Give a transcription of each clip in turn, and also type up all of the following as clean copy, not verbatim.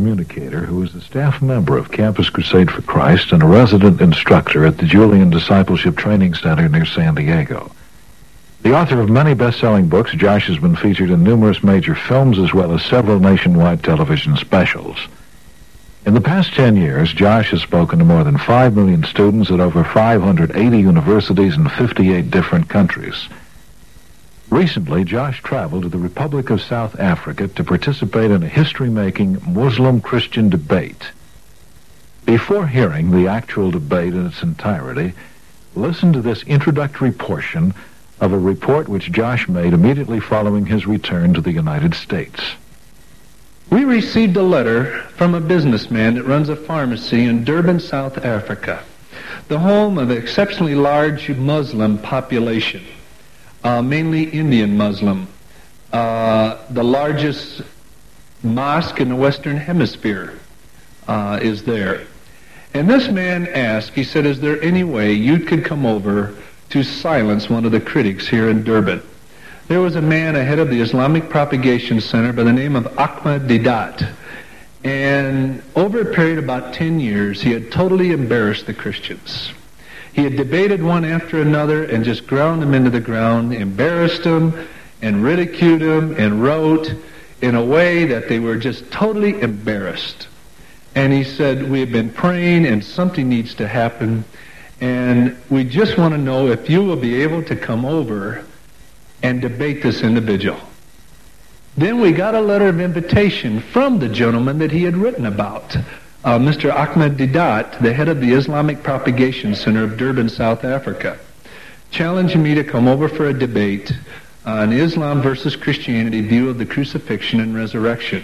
communicator who is a staff member of Campus Crusade for Christ and a resident instructor at the Julian Discipleship Training Center near San Diego. The author of many best-selling books, Josh has been featured in numerous major films as well as several nationwide television specials. In the past 10 years, Josh has spoken to more than 5 million students at over 580 universities in 58 different countries. Recently, Josh traveled to the Republic of South Africa to participate in a history-making Muslim-Christian debate. Before hearing the actual debate in its entirety, listen to this introductory portion of a report which Josh made immediately following his return to the United States. We received a letter from a businessman that runs a pharmacy in Durban, South Africa, the home of an exceptionally large Muslim population, mainly Indian Muslim, the largest mosque in the Western Hemisphere is there. And this man asked, he said, is there any way you could come over to silence one of the critics here in Durban? There was a man ahead of the Islamic Propagation Center by the name of Ahmed Deedat. And over a period of about 10 years, he had totally embarrassed the Christians. He had debated one after another and just ground them into the ground, embarrassed them, and ridiculed them, and wrote in a way that they were just totally embarrassed. And he said, we have been praying and something needs to happen. And we just want to know if you will be able to come over and debate this individual. Then we got a letter of invitation from the gentleman that he had written about, Mr. Ahmed Deedat, the head of the Islamic Propagation Center of Durban, South Africa, challenging me to come over for a debate on Islam versus Christianity view of the crucifixion and resurrection.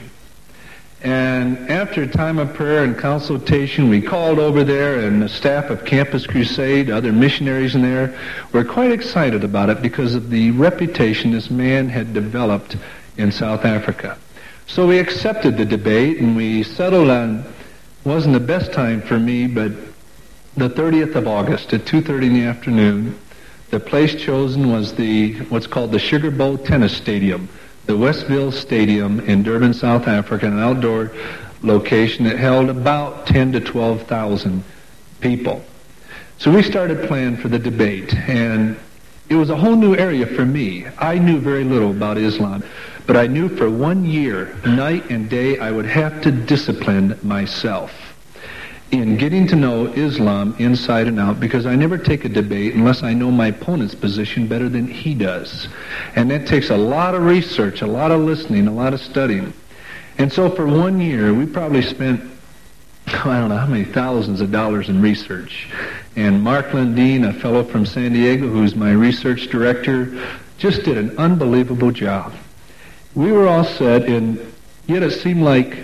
And after a time of prayer and consultation, we called over there, and the staff of Campus Crusade, other missionaries in there, were quite excited about it because of the reputation this man had developed in South Africa. So we accepted the debate, and we settled on, wasn't the best time for me, but the 30th of August at 2:30 in the afternoon. The place chosen was what's called the Sugar Bowl Tennis Stadium, the Westville Stadium in Durban, South Africa, an outdoor location that held about 10 to 12,000 people. So we started planning for the debate, and it was a whole new area for me. I knew very little about Islam, but I knew for 1 year, night and day, I would have to discipline myself in getting to know Islam inside and out, because I never take a debate unless I know my opponent's position better than he does. And that takes a lot of research, a lot of listening, a lot of studying. And so for 1 year, we probably spent, I don't know how many thousands of dollars in research. And Mark Lundeen, a fellow from San Diego, who's my research director, just did an unbelievable job. We were all set, and yet it seemed like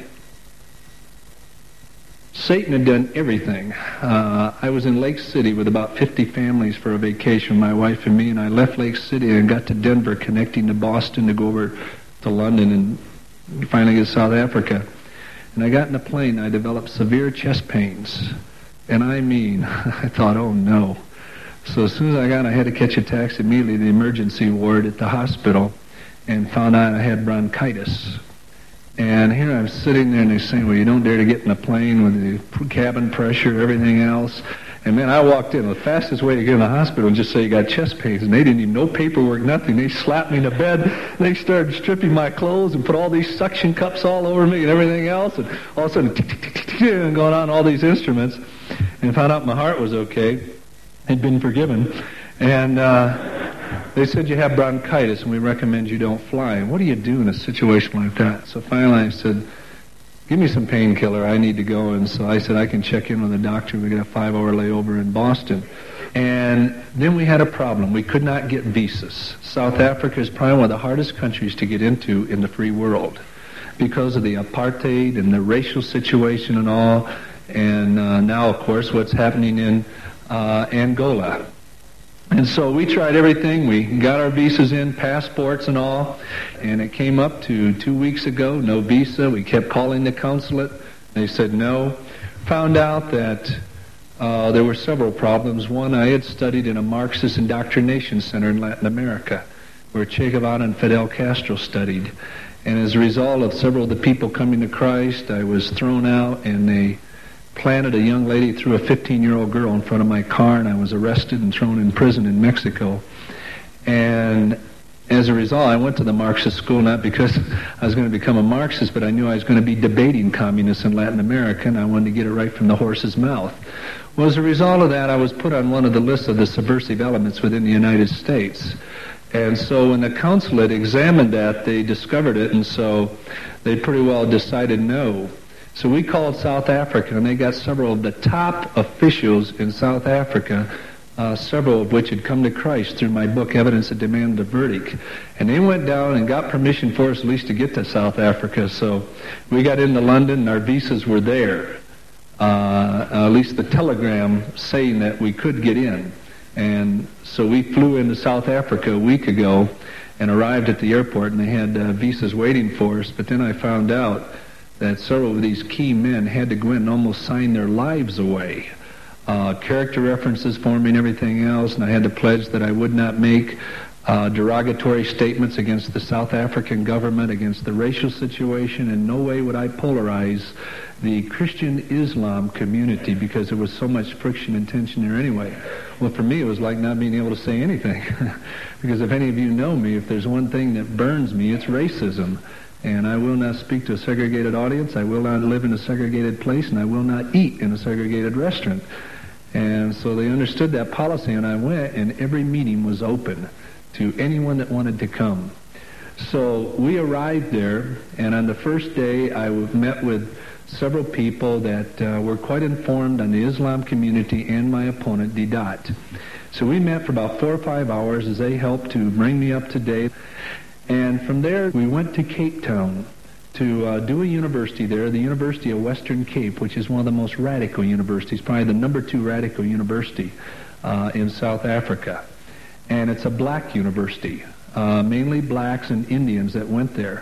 Satan had done everything. I was in Lake City with about 50 families for a vacation, my wife and me, and I left Lake City and got to Denver, connecting to Boston to go over to London and finally get to South Africa. And I got in the plane and I developed severe chest pains. And I mean, I thought, oh no. So as soon as I got, I had to catch a taxi immediately to the emergency ward at the hospital and found out I had bronchitis. And here I'm sitting there, and they're saying, well, you don't dare to get in a plane with the cabin pressure, everything else. And man, I walked in. The fastest way to get in the hospital and just say you got chest pains. And they didn't even know paperwork, nothing. They slapped me in the bed. They started stripping my clothes and put all these suction cups all over me and everything else. And all of a sudden, and going on all these instruments. And found out my heart was okay. Had been forgiven. And they said, you have bronchitis, and we recommend you don't fly. And what do you do in a situation like that? So finally I said, give me some painkiller. I need to go. And so I said, I can check in with the doctor. We got a 5-hour layover in Boston. And then we had a problem. We could not get visas. South Africa is probably one of the hardest countries to get into in the free world because of the apartheid and the racial situation and all. And now, of course, what's happening in Angola. And so we tried everything. We got our visas in, passports and all, and it came up to 2 weeks ago, no visa. We kept calling the consulate. They said no. Found out that there were several problems. One, I had studied in a Marxist indoctrination center in Latin America, where Che Guevara and Fidel Castro studied. And as a result of several of the people coming to Christ, I was thrown out, and they planted a young lady, threw a 15-year-old girl in front of my car, and I was arrested and thrown in prison in Mexico. And as a result, I went to the Marxist school, not because I was going to become a Marxist, but I knew I was going to be debating communists in Latin America, and I wanted to get it right from the horse's mouth. Well, as a result of that, I was put on one of the lists of the subversive elements within the United States. And so when the consulate examined that, they discovered it, and so they pretty well decided no. So we called South Africa, and they got several of the top officials in South Africa, several of which had come to Christ through my book, Evidence That Demanded a Verdict. And they went down and got permission for us at least to get to South Africa. So we got into London, and our visas were there. At least the telegram saying that we could get in. And so we flew into South Africa a week ago and arrived at the airport, and they had visas waiting for us. But then I found out that several of these key men had to go in and almost sign their lives away. Character references for me and everything else, and I had to pledge that I would not make derogatory statements against the South African government, against the racial situation. In no way would I polarize the Christian Islam community because there was so much friction and tension there anyway. Well, for me, it was like not being able to say anything. Because if any of you know me, if there's one thing that burns me, it's racism. And I will not speak to a segregated audience, I will not live in a segregated place, and I will not eat in a segregated restaurant. And so they understood that policy, and I went, and every meeting was open to anyone that wanted to come. So we arrived there, and on the first day I met with several people that were quite informed on the Islam community and my opponent, Didat. So we met for about 4 or 5 hours as they helped to bring me up to date. And from there, we went to Cape Town to do a university there, the University of Western Cape, which is one of the most radical universities, probably the number 2 radical university in South Africa. And it's a black university, mainly blacks and Indians that went there.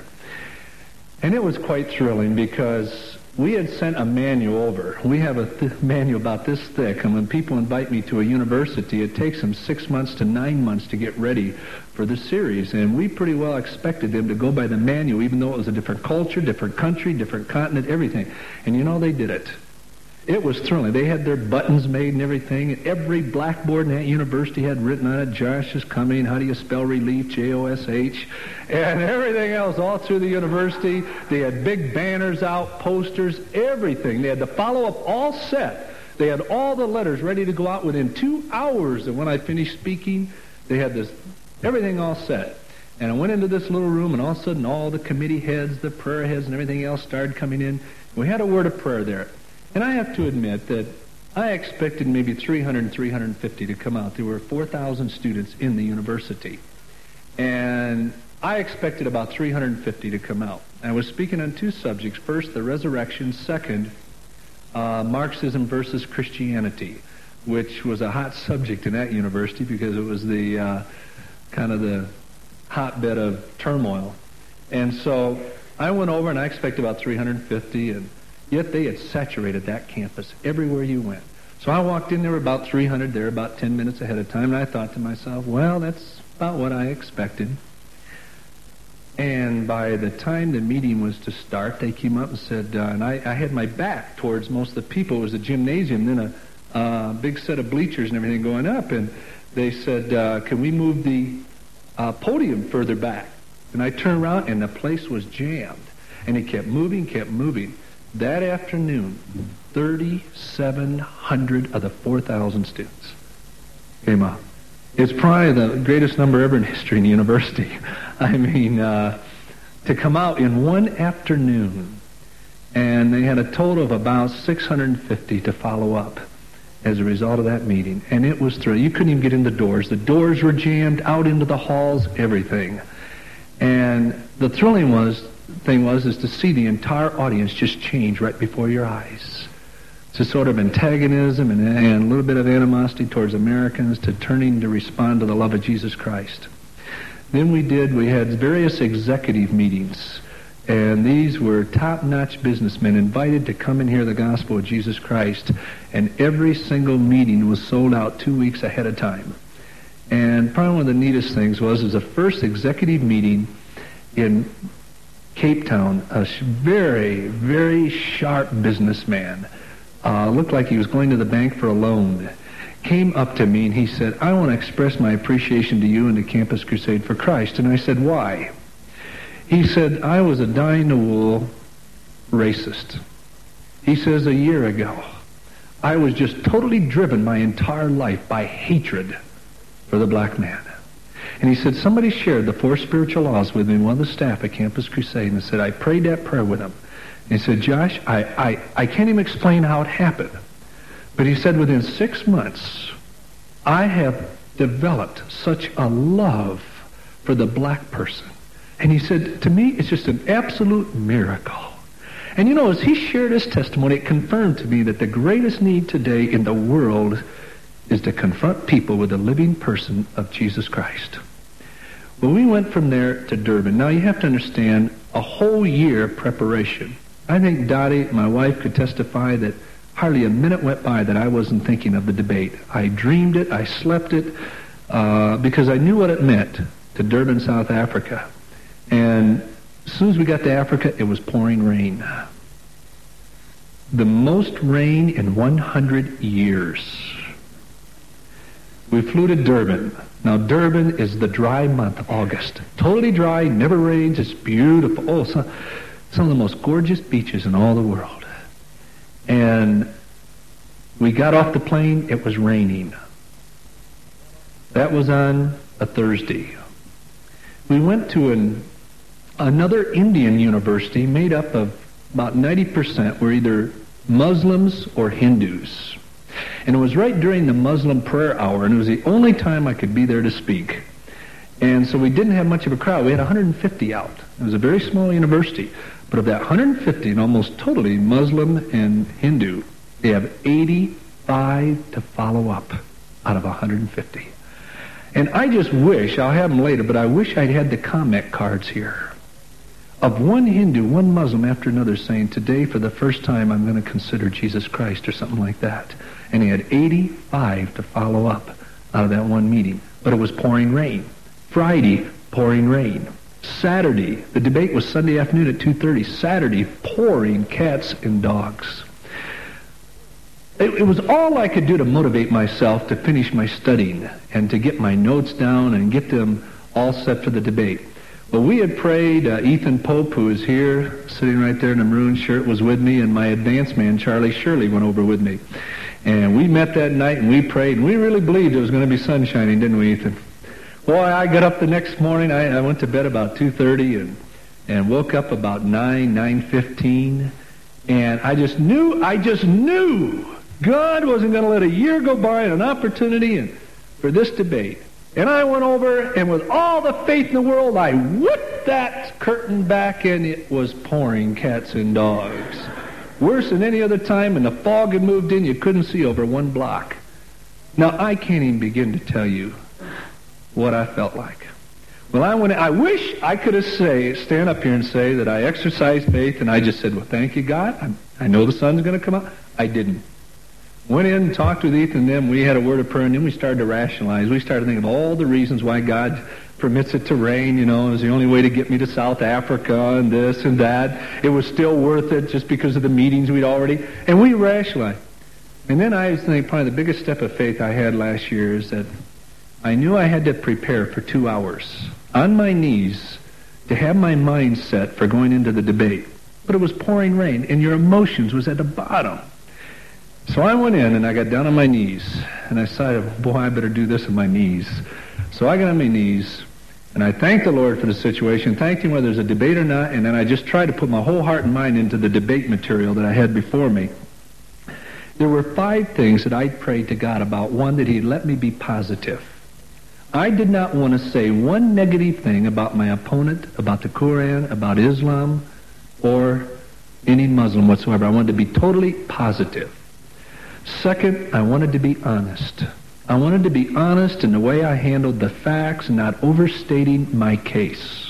And it was quite thrilling because we had sent a manual over. We have a manual about this thick, and when people invite me to a university, it takes them 6 months to 9 months to get ready for the series. And we pretty well expected them to go by the manual, even though it was a different culture, different country, different continent, everything. And you know, they did it. It was thrilling. They had their buttons made and everything. And every blackboard in that university had written on it, Josh is coming, how do you spell relief, J-O-S-H, and everything else all through the university. They had big banners out, posters, everything. They had the follow-up all set. They had all the letters ready to go out within 2 hours. And when I finished speaking, they had this, everything all set. And I went into this little room, and all of a sudden all the committee heads, the prayer heads, and everything else started coming in. We had a word of prayer there. And I have to admit that I expected maybe 300 and 350 to come out. There were 4,000 students in the university. And I expected about 350 to come out. I was speaking on 2 subjects. First, the resurrection. Second, Marxism versus Christianity, which was a hot subject in that university because it was the kind of the hotbed of turmoil. And so I went over and I expected about 350, and yet they had saturated that campus everywhere you went. So I walked in, there were about 300 there, about 10 minutes ahead of time, and I thought to myself, well, that's about what I expected. And by the time the meeting was to start, they came up and said, and I had my back towards most of the people. It was a gymnasium, then a big set of bleachers and everything going up, and they said, can we move the podium further back? And I turned around, and the place was jammed. And it kept moving, kept moving. That afternoon, 3,700 of the 4,000 students came out. It's probably the greatest number ever in history in the university. I mean, to come out in one afternoon, and they had a total of about 650 to follow up as a result of that meeting. And it was thrilling. You couldn't even get in the doors. The doors were jammed, out into the halls, everything. And the thrilling thing was to see the entire audience just change right before your eyes. It's a sort of antagonism and a little bit of animosity towards Americans to turning to respond to the love of Jesus Christ. Then we had various executive meetings, and these were top-notch businessmen invited to come and hear the gospel of Jesus Christ, and every single meeting was sold out 2 weeks ahead of time. And probably one of the neatest things was the first executive meeting in Cape Town, a very, very sharp businessman. Looked like he was going to the bank for a loan. Came up to me and he said, I want to express my appreciation to you and to Campus Crusade for Christ. And I said, why? He said, I was a dyed-in-the-wool racist. He says, a year ago, I was just totally driven my entire life by hatred for the black man. And he said, somebody shared the 4 spiritual laws with me, one of the staff at Campus Crusade, and said, I prayed that prayer with him. And he said, Josh, I can't even explain how it happened. But he said, within 6 months, I have developed such a love for the black person. And he said, to me, it's just an absolute miracle. And you know, as he shared his testimony, it confirmed to me that the greatest need today in the world is to confront people with the living person of Jesus Christ. Well, we went from there to Durban. Now, you have to understand, a whole year of preparation. I think Dottie, my wife, could testify that hardly a minute went by that I wasn't thinking of the debate. I dreamed it, I slept it, because I knew what it meant to Durban, South Africa. And as soon as we got to Africa, it was pouring rain. The most rain in 100 years. We flew to Durban. Now, Durban is the dry month, August. Totally dry, never rains, it's beautiful. Oh, some of the most gorgeous beaches in all the world. And we got off the plane, it was raining. That was on a Thursday. We went to another Indian university made up of about 90% were either Muslims or Hindus. And it was right during the Muslim prayer hour, and it was the only time I could be there to speak. And so we didn't have much of a crowd. We had 150 out. It was a very small university. But of that 150, and almost totally Muslim and Hindu, they have 85 to follow up out of 150. And I just wish, I'll have them later, but I wish I'd had the comment cards here of one Hindu, one Muslim after another saying, today for the first time I'm going to consider Jesus Christ or something like that. And he had 85 to follow up out of that one meeting. But it was pouring rain. Friday, pouring rain. Saturday, the debate was Sunday afternoon at 2:30. Saturday, pouring cats and dogs. It was all I could do to motivate myself to finish my studying and to get my notes down and get them all set for the debate. Well, we had prayed. Ethan Pope, who is here, sitting right there in a maroon shirt, was with me, and my advance man, Charlie Shirley, went over with me. And we met that night, and we prayed, and we really believed it was going to be sun shining, didn't we, Ethan? Boy, I got up the next morning. I went to bed about 2:30 and woke up about 9:15, and I just knew God wasn't going to let a year go by and an opportunity for this debate. And I went over, and with all the faith in the world, I whipped that curtain back, and it was pouring cats and dogs. Worse than any other time, and the fog had moved in. You couldn't see over one block. Now, I can't even begin to tell you what I felt like. Well, I wish I could have stand up here and say that I exercised faith, and I just said, well, thank you, God. I know the sun's going to come out. I didn't. Went in and talked with Ethan and them. We had a word of prayer, and then we started to rationalize. We started thinking of all the reasons why God permits it to rain. You know, it was the only way to get me to South Africa and this and that. It was still worth it just because of the meetings we'd already. And we rationalized. And then I think probably the biggest step of faith I had last year is that I knew I had to prepare for 2 hours on my knees to have my mind set for going into the debate. But it was pouring rain, and your emotions was at the bottom. So I went in, and I got down on my knees, and I decided, boy, I better do this on my knees. So I got on my knees, and I thanked the Lord for the situation, thanked Him whether there's a debate or not, and then I just tried to put my whole heart and mind into the debate material that I had before me. There were 5 things that I prayed to God about. One, that He'd let me be positive. I did not want to say one negative thing about my opponent, about the Quran, about Islam, or any Muslim whatsoever. I wanted to be totally positive. Second, I wanted to be honest. I wanted to be honest in the way I handled the facts and not overstating my case.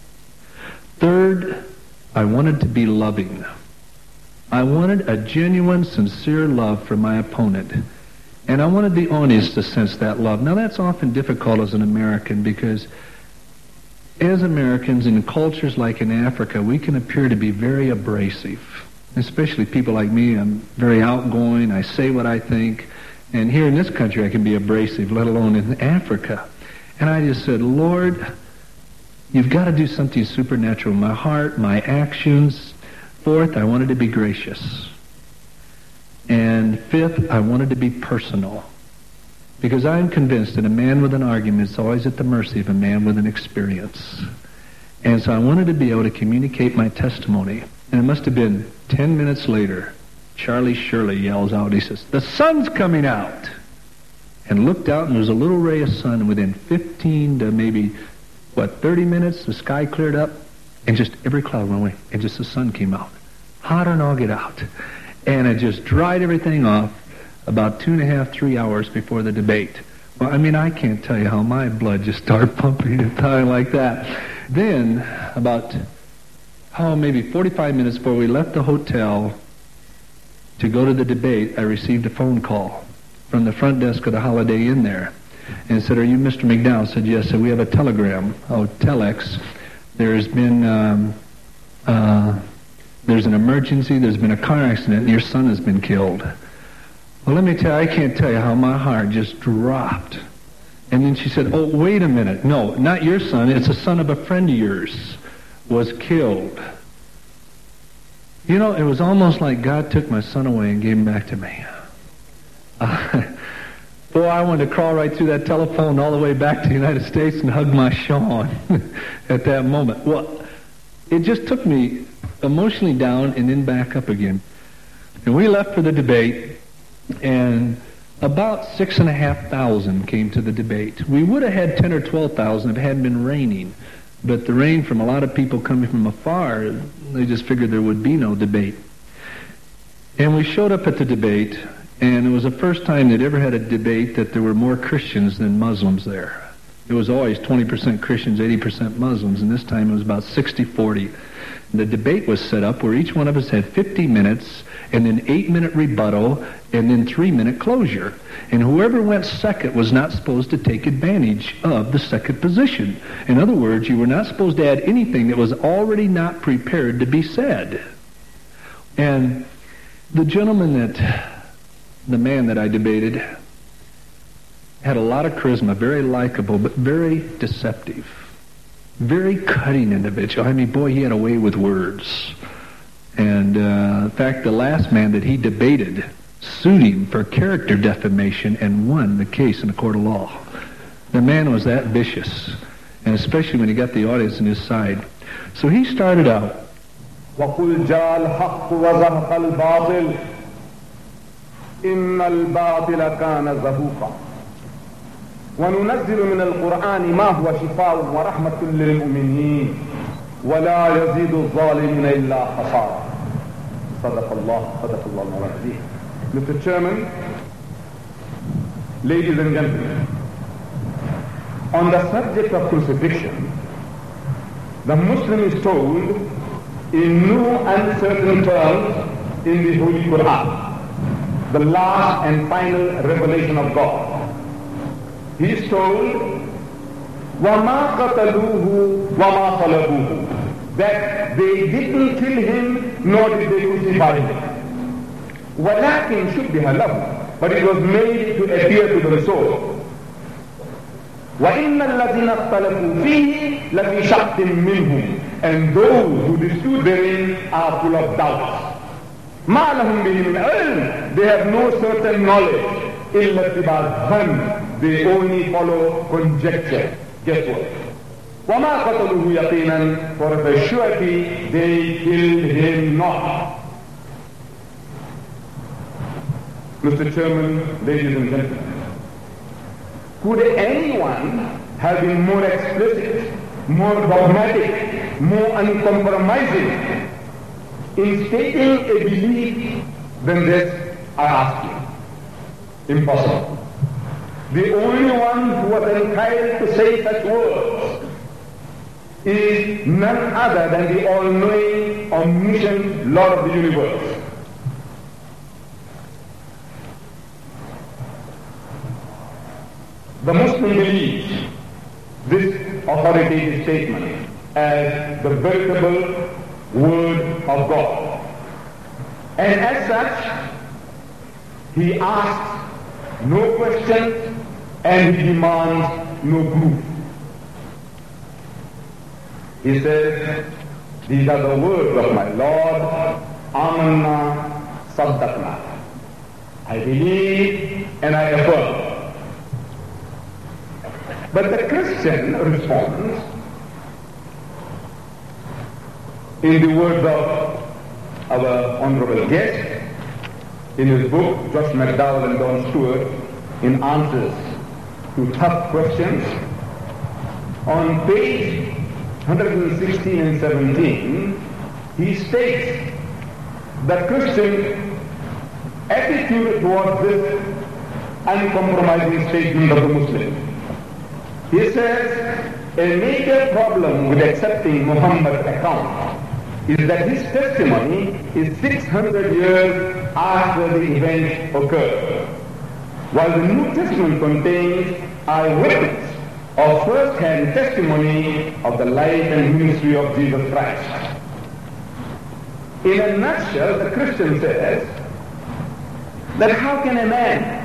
Third, I wanted to be loving. I wanted a genuine, sincere love for my opponent. And I wanted the audience to sense that love. Now, that's often difficult as an American because as Americans in cultures like in Africa, we can appear to be very abrasive. Especially people like me, I'm very outgoing, I say what I think, and here in this country I can be abrasive, let alone in Africa. And I just said, Lord, you've got to do something supernatural in my heart, my actions. Fourth, I wanted to be gracious. And fifth, I wanted to be personal. Because I'm convinced that a man with an argument is always at the mercy of a man with an experience. And so I wanted to be able to communicate my testimony. And it must have been 10 minutes later, Charlie Shirley yells out, he says, "The sun's coming out!" And looked out, and there was a little ray of sun, and within 15 to maybe, 30 minutes, the sky cleared up, and just every cloud went away, and just the sun came out. Hotter than all get out. And it just dried everything off about 2.5, 3 hours before the debate. Well, I mean, I can't tell you how my blood just started pumping and time like that. Then, about, maybe 45 minutes before we left the hotel to go to the debate, I received a phone call from the front desk of the Holiday Inn there. And said, "Are you Mr. McDowell?" I said, "Yes." So we have a telegram, telex. There's been, there's an emergency, there's been a car accident, and your son has been killed. Well, let me tell you, I can't tell you how my heart just dropped. And then she said, "Oh, wait a minute. No, not your son. It's a son of a friend of yours was killed." You know, it was almost like God took my son away and gave him back to me. Boy, I wanted to crawl right through that telephone all the way back to the United States and hug my Sean at that moment. Well, it just took me emotionally down and then back up again. And we left for the debate, and about 6,500 came to the debate. We would have had 10 or 12,000 if it hadn't been raining. But the rain from a lot of people coming from afar, they just figured there would be no debate. And we showed up at the debate, and it was the first time they'd ever had a debate that there were more Christians than Muslims there. It was always 20% Christians, 80% Muslims, and this time it was about 60-40. The debate was set up where each one of us had 50 minutes, and then 8-minute rebuttal, and then 3-minute closure. And whoever went second was not supposed to take advantage of the second position. In other words, you were not supposed to add anything that was already not prepared to be said. And the man that I debated had a lot of charisma, very likable, but very deceptive. Very cutting individual. I mean, boy, he had a way with words. And in fact, the last man that he debated sued him for character defamation and won the case in a court of law. The man was that vicious, and especially when he got the audience on his side. So he started out, وَقُلْ جَاءَ الْحَقُّ وَزَهَقَ الْبَاطِلُ إِنَّ الْبَاطِلَ كَانَ زَهُوقًا وَنُنَزِّلُ مِنَ الْقُرْآنِ مَا هُوَ شِفَاءٌ وَرَحْمَةٌ لِلْمُؤْمِنِينَ وَلَا يَزِيدُ الظَّالِمِينَ إِلَّا خَسَارًا. صدق الله العظيم. Mr. Chairman, ladies and gentlemen, on the subject of crucifixion, the Muslim is told in no uncertain terms in the Holy Quran, the last and final revelation of God. He is told, وَمَا قَتَلُوهُ وَمَا صَلَبُوهُ, that they didn't kill him, nor did they crucify him. وَلَكِنْ شُبِّهَ لَهُ, but it was made to appear to them so. وَإِنَّ الَّذِينَ اخْتَلَفُوا فِيهِ لَفِي شَقٍّ مِّنْهُمْ, and those who dispute therein are full of doubts. مَا لَهُمْ بِهِ مِنْ عِلْمٍ, they have no certain knowledge. إِلَّا اتِّبَاعَ الظَّنِّ, they only follow conjecture, guesswork. وَمَا قَتَلُوهُ يَقِينًا, for of a surety they killed him not. Mr. Chairman, ladies and gentlemen, could anyone have been more explicit, more dogmatic, more uncompromising in stating a belief than this? I ask you. Impossible. The only one who was entitled to say such words is none other than the all-knowing, omniscient Lord of the universe. The Muslim believes this authoritative statement as the veritable Word of God. And as such, he asks no questions and he demands no proof. He says, these are the words of my Lord, Amanna Saddaqna. I believe and I affirm. But the Christian responds in the words of our honorable guest in his book, Josh McDowell and Don Stewart, in Answers to Tough Questions, on page 116 and 17, he states the Christian attitude towards this uncompromising statement of the Muslim. He says, a major problem with accepting Muhammad's account is that his testimony is 600 years after the event occurred, while the New Testament contains eyewitness or first-hand testimony of the life and ministry of Jesus Christ. In a nutshell, the Christian says that how can a man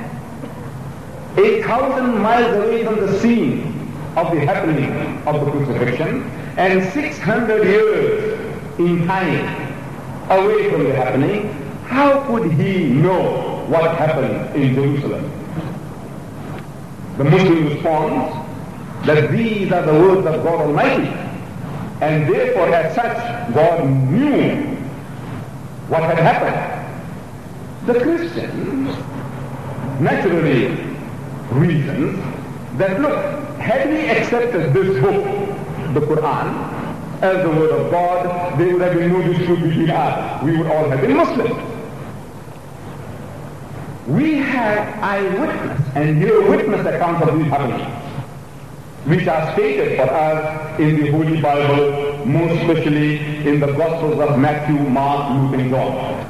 8,000 miles away from the scene of the happening of the crucifixion and 600 years in time away from the happening, how could he know what happened in Jerusalem? The Muslim responds that these are the words of God Almighty, and therefore as such God knew what had happened. The Christian naturally reasons that, look, had we accepted this book, the Quran, as the word of God, there would have been no dispute between us. We would all have been Muslims. We have eyewitness and near-witness accounts of these happenings, which are stated for us in the Holy Bible, most especially in the Gospels of Matthew, Mark, Luke, and John.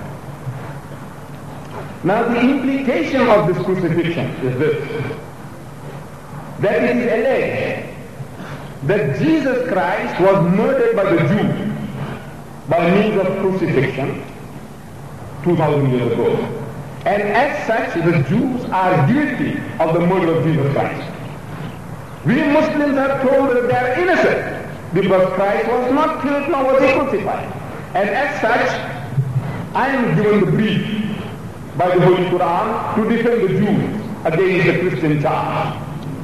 Now the implication of this crucifixion is this, that it is alleged that Jesus Christ was murdered by the Jews by means of crucifixion 2,000 years ago. And as such, the Jews are guilty of the murder of Jesus Christ. We Muslims are told that they are innocent because Christ was not killed nor was he crucified. And as such, I am given the brief by the Holy Quran to defend the Jews against the Christian charge.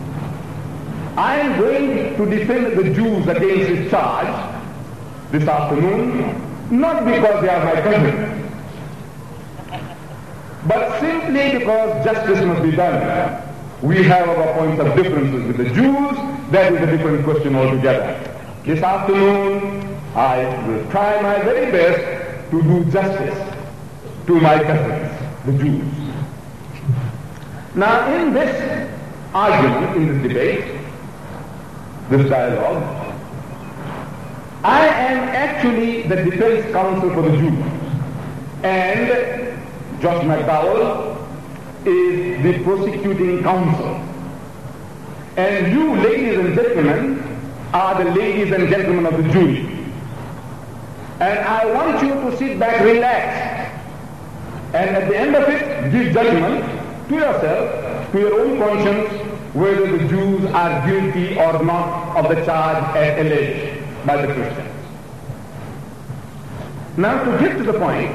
I am going to defend the Jews against this charge this afternoon, not because they are my cousins, but simply because justice must be done. We have our points of differences with the Jews. That is a different question altogether. This afternoon, I will try my very best to do justice to my cousins, the Jews. Now, in this argument, in this debate, this dialogue, I am actually the defense counsel for the Jews, and Josh McDowell is the prosecuting counsel. And you, ladies and gentlemen, are the ladies and gentlemen of the jury. And I want you to sit back, relax, and at the end of it, give judgment to yourself, to your own conscience, whether the Jews are guilty or not of the charge as alleged by the Christians. Now, to get to the point,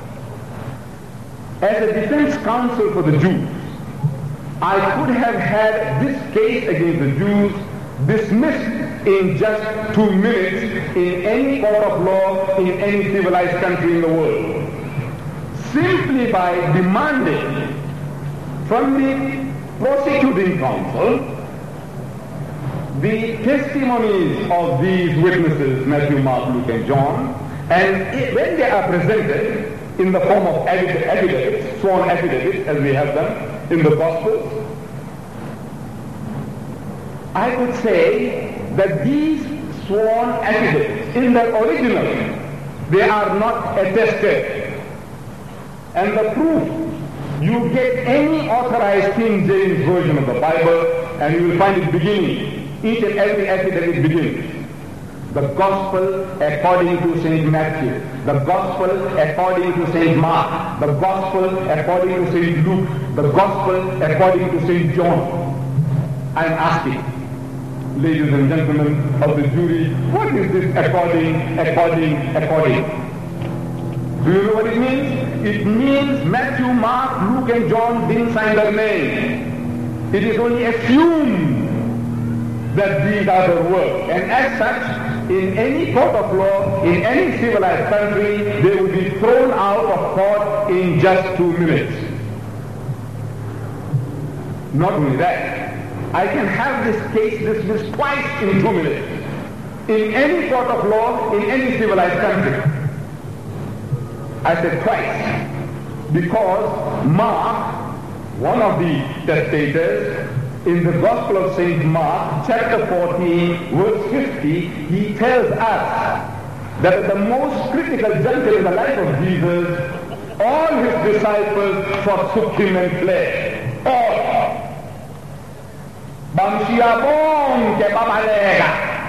as a defense counsel for the Jews, I could have had this case against the Jews dismissed in just 2 minutes in any court of law in any civilized country in the world, simply by demanding from the prosecuting counsel the testimonies of these witnesses, Matthew, Mark, Luke, and John, and when they are presented in the form of affidavits, sworn affidavits, as we have them in the Gospels, I could say that these sworn affidavits, in their original, they are not attested. And the proof, you get any authorized King James version of the Bible, and you will find it beginning each and every essay that it begins. The Gospel according to St. Matthew, the Gospel according to St. Mark, the Gospel according to St. Luke, the Gospel according to St. John. I am asking, ladies and gentlemen of the jury, what is this according? Do you know what it means? It means Matthew, Mark, Luke and John didn't sign their name. It is only assumed that these are their works. And as such, in any court of law, in any civilized country, they will be thrown out of court in just 2 minutes. Not only that, I can have this case dismissed twice in 2 minutes. In any court of law, in any civilized country. I said twice, because Mark, one of the testators, in the Gospel of St. Mark, chapter 14, verse 50, he tells us that at the most critical juncture in the life of Jesus, all his disciples forsook him and fled. All. Bang siapong ke papalega.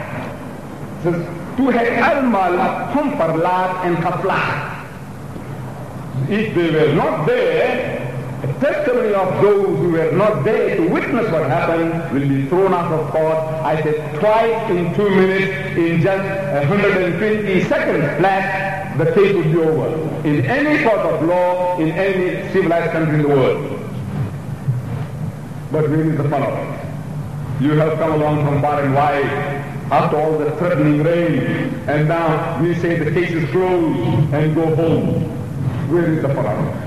Toe het almal hom verlaat en gevlug. If they were not there, the testimony of those who were not there to witness what happened will be thrown out of court. I said twice in 2 minutes, in just 120 seconds flat, the case would be over. In any court of law, in any civilized country in the world. But where is the fun of it? You have come along from far and wide after all the threatening rain, and now we say the case is closed and go home. Where is the fun of it?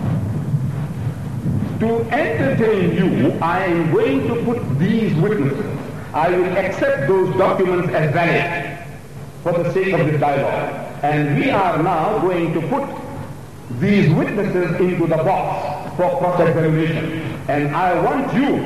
To entertain you, I am going to put these witnesses. I will accept those documents as valid for the sake of this dialogue. And we are now going to put these witnesses into the box for cross-examination. And I want you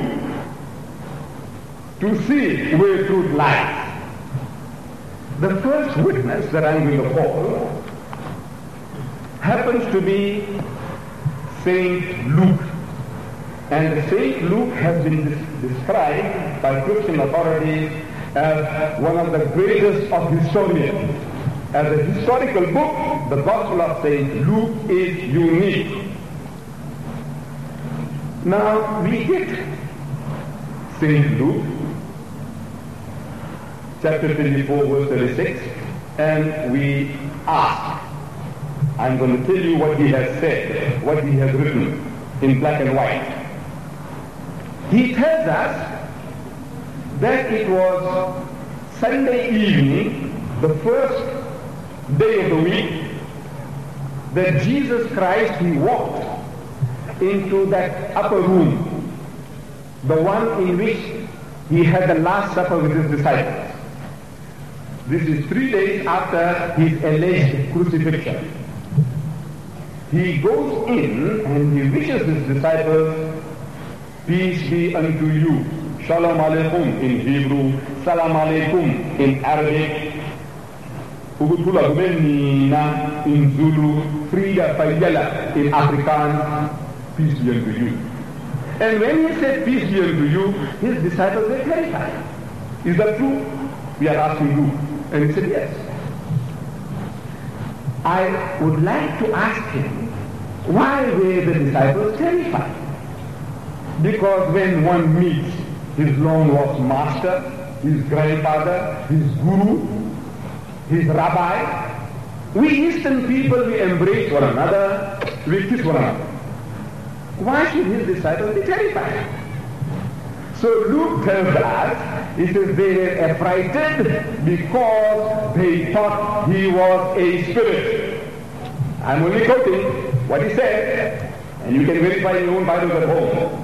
to see where truth lies. The first witness that I'm going to call happens to be St. Luke. And St. Luke has been described by Christian authorities as one of the greatest of historians. As a historical book, the Gospel of St. Luke is unique. Now we get St. Luke, chapter 24, verse 36, and we ask. I'm going to tell you what he has said, what he has written in black and white. He tells us that it was Sunday evening, the first day of the week, that Jesus Christ, he walked into that upper room, the one in which he had the Last Supper with his disciples. This is 3 days after his alleged crucifixion. He goes in and he wishes his disciples, peace be unto you. Shalom Aleichem in Hebrew, Salam Aleichem in Arabic, Ugutula Gubenina in Zulu, Frida Fayela in Afrikaans, peace be unto you. And when he said peace be unto you, his disciples were terrified. Is that true? We are asking you. And he said yes. I would like to ask him, why were the disciples terrified? Because when one meets his long-lost master, his grandfather, his guru, his rabbi, we Eastern people, we embrace one another, we kiss one another. Why should his disciples be terrified? So Luke tells us, he says they were affrighted because they thought he was a spirit. I'm only quoting what he said, and you can verify in your own Bibles at home.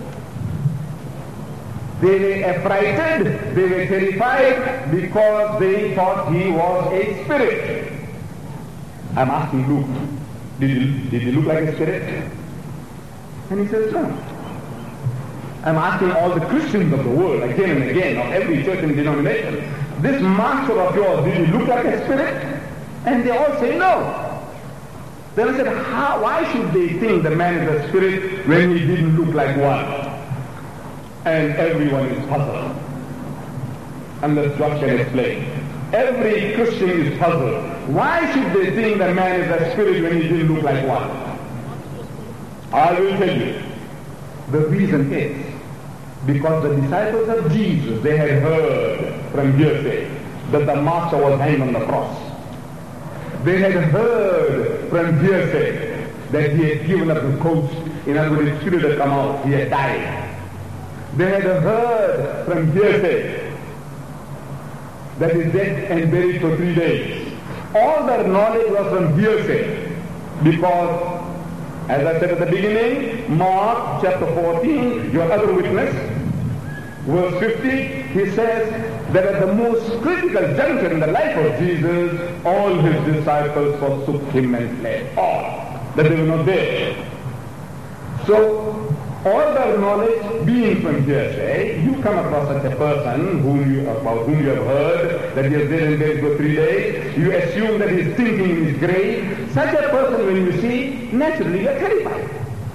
They were affrighted, they were terrified because they thought he was a spirit. I'm asking Luke, did he look like a spirit? And he says no. I'm asking all the Christians of the world, again and again, of every church and denomination, this master of yours, did he look like a spirit? And they all say no. Then I said, why should they think the man is a spirit when he didn't look like one? And everyone is puzzled. unless Josh can explain. Every Christian is puzzled. Why should they think that man is a spirit when he didn't look like one? I will tell you. The reason is because the disciples of Jesus, they had heard from hearsay that the master was hanged on the cross. They had heard from hearsay that he had given up the ghost. In other words, his spirit had come out. He had died. They had heard from hearsay that he is dead and buried for 3 days. All their knowledge was from hearsay because, as I said at the beginning, Mark chapter 14, your other witness, verse 50, he says that at the most critical juncture in the life of Jesus, all his disciples forsook him and fled. All. That they were not there. So, all their knowledge being from hearsay, you come across such a person about whom you have heard that he is dead and buried for 3 days, you assume that he is thinking in his grave. Such a person, when you see, naturally you are terrified.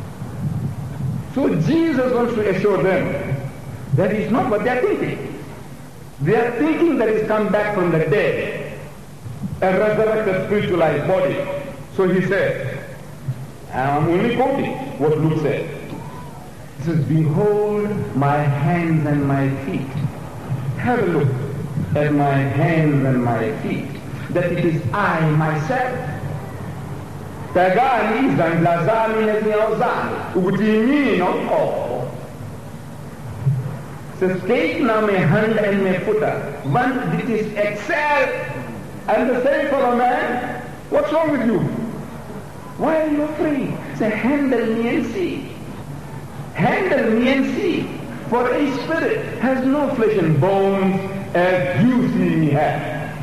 So Jesus wants to assure them that is not what they are thinking. They are thinking that he's come back from the dead, a resurrected spiritualized body. So he said, I'm only quoting what Luke said. He says, behold my hands and my feet. Have a look at my hands and my feet, that it is I myself. Tagani zandlazani neziaozani, ugutimini not all. Says, take now my hand and my foot. One that is excel, and the same for a man. What's wrong with you? Why are you afraid? Say, handle me and see. Handle me and see. For a spirit has no flesh and bones as you see me have.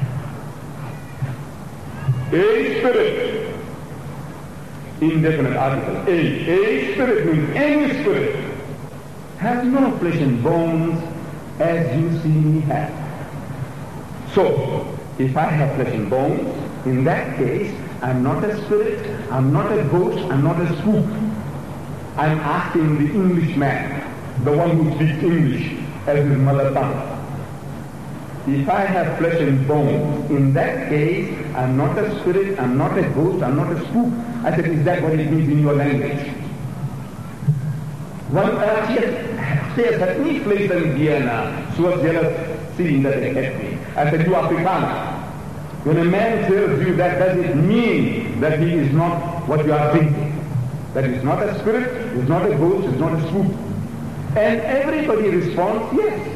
A spirit, indefinite article, a spirit means any spirit, has no flesh and bones as you see me have. So, if I have flesh and bones, in that case, I'm not a spirit, I'm not a ghost, I'm not a spook. I'm asking the Englishman, the one who speaks English as his mother tongue. If I have flesh and bones, in that case, I'm not a spirit, I'm not a ghost, I'm not a spook. I said, is that what it means in your language? One says, at me place in Vienna, she was jealous seeing that they had me. I said, you Afrikaner. When a man tells you that, does it mean that he is not what you are thinking? That he's not a spirit, he's not a ghost, he's not a spook. And everybody responds, yes.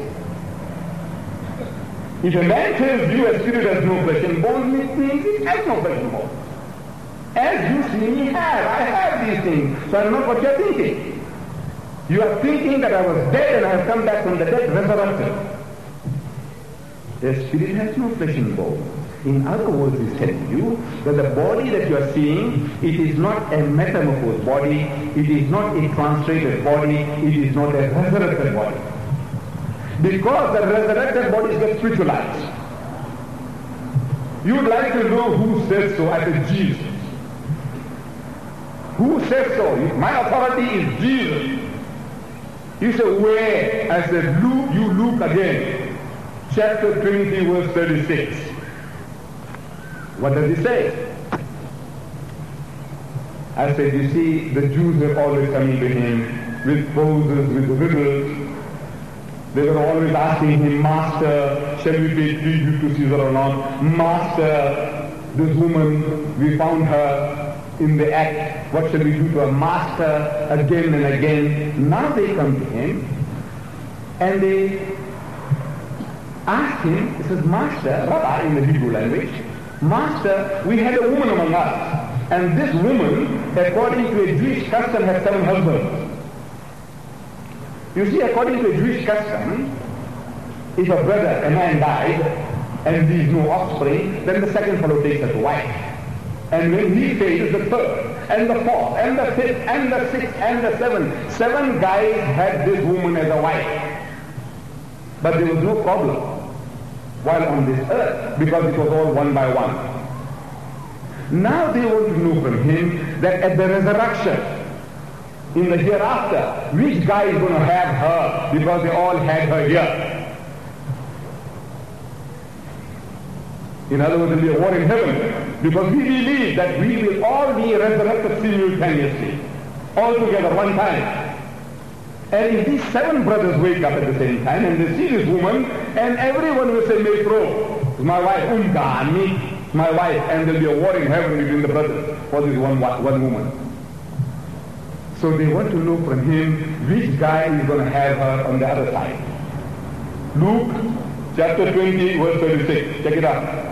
If a man tells you a spirit has no flesh and bones, it means it has no flesh and bones. As you see me have, I have these things, so I'm not what you're thinking. You are thinking that I was dead and I have come back from the dead, resurrected. The spirit has no flesh and bones. In other words, he's telling you that the body that you are seeing, it is not a metamorphosed body, it is not a translated body, it is not a resurrected body. Because the resurrected bodies get spiritualized. You would like to know who says so. I said, Jesus. Who says so? My authority is Jesus. You say, where? I said, look, you look again. Chapter 20, verse 36. What does he say? I said, you see, the Jews were always coming to him with poses, with riddles. They were always asking him, Master, shall we pay tribute to Caesar or not? Master, this woman, we found her in the act. What shall we do to her? Master, again and again. Now they come to him and they ask him, he says, Master, Rabbi in the Hebrew language, Master, we had a woman among us, and this woman, according to a Jewish custom, had 7 husbands. You see, according to a Jewish custom, if a brother, a man died, and leaves no offspring, then the second fellow takes as a wife. And when he fails, the third, and the fourth, and the fifth, and the sixth, and the seventh. 7 guys had this woman as a wife. But there was no problem while on this earth, because it was all one by one. Now they want to know from him that at the resurrection, in the hereafter, which guy is going to have her, because they all had her here. In other words, there will be a war in heaven. Because we believe that we will all be resurrected simultaneously, all together, one time. And if these 7 brothers wake up at the same time and they see this woman, and everyone will say, Maypro, my wife, my wife, and there will be a war in heaven between the brothers for this one woman. So they want to know from him which guy is going to have her on the other side. Luke chapter 20, verse 36. Check it out.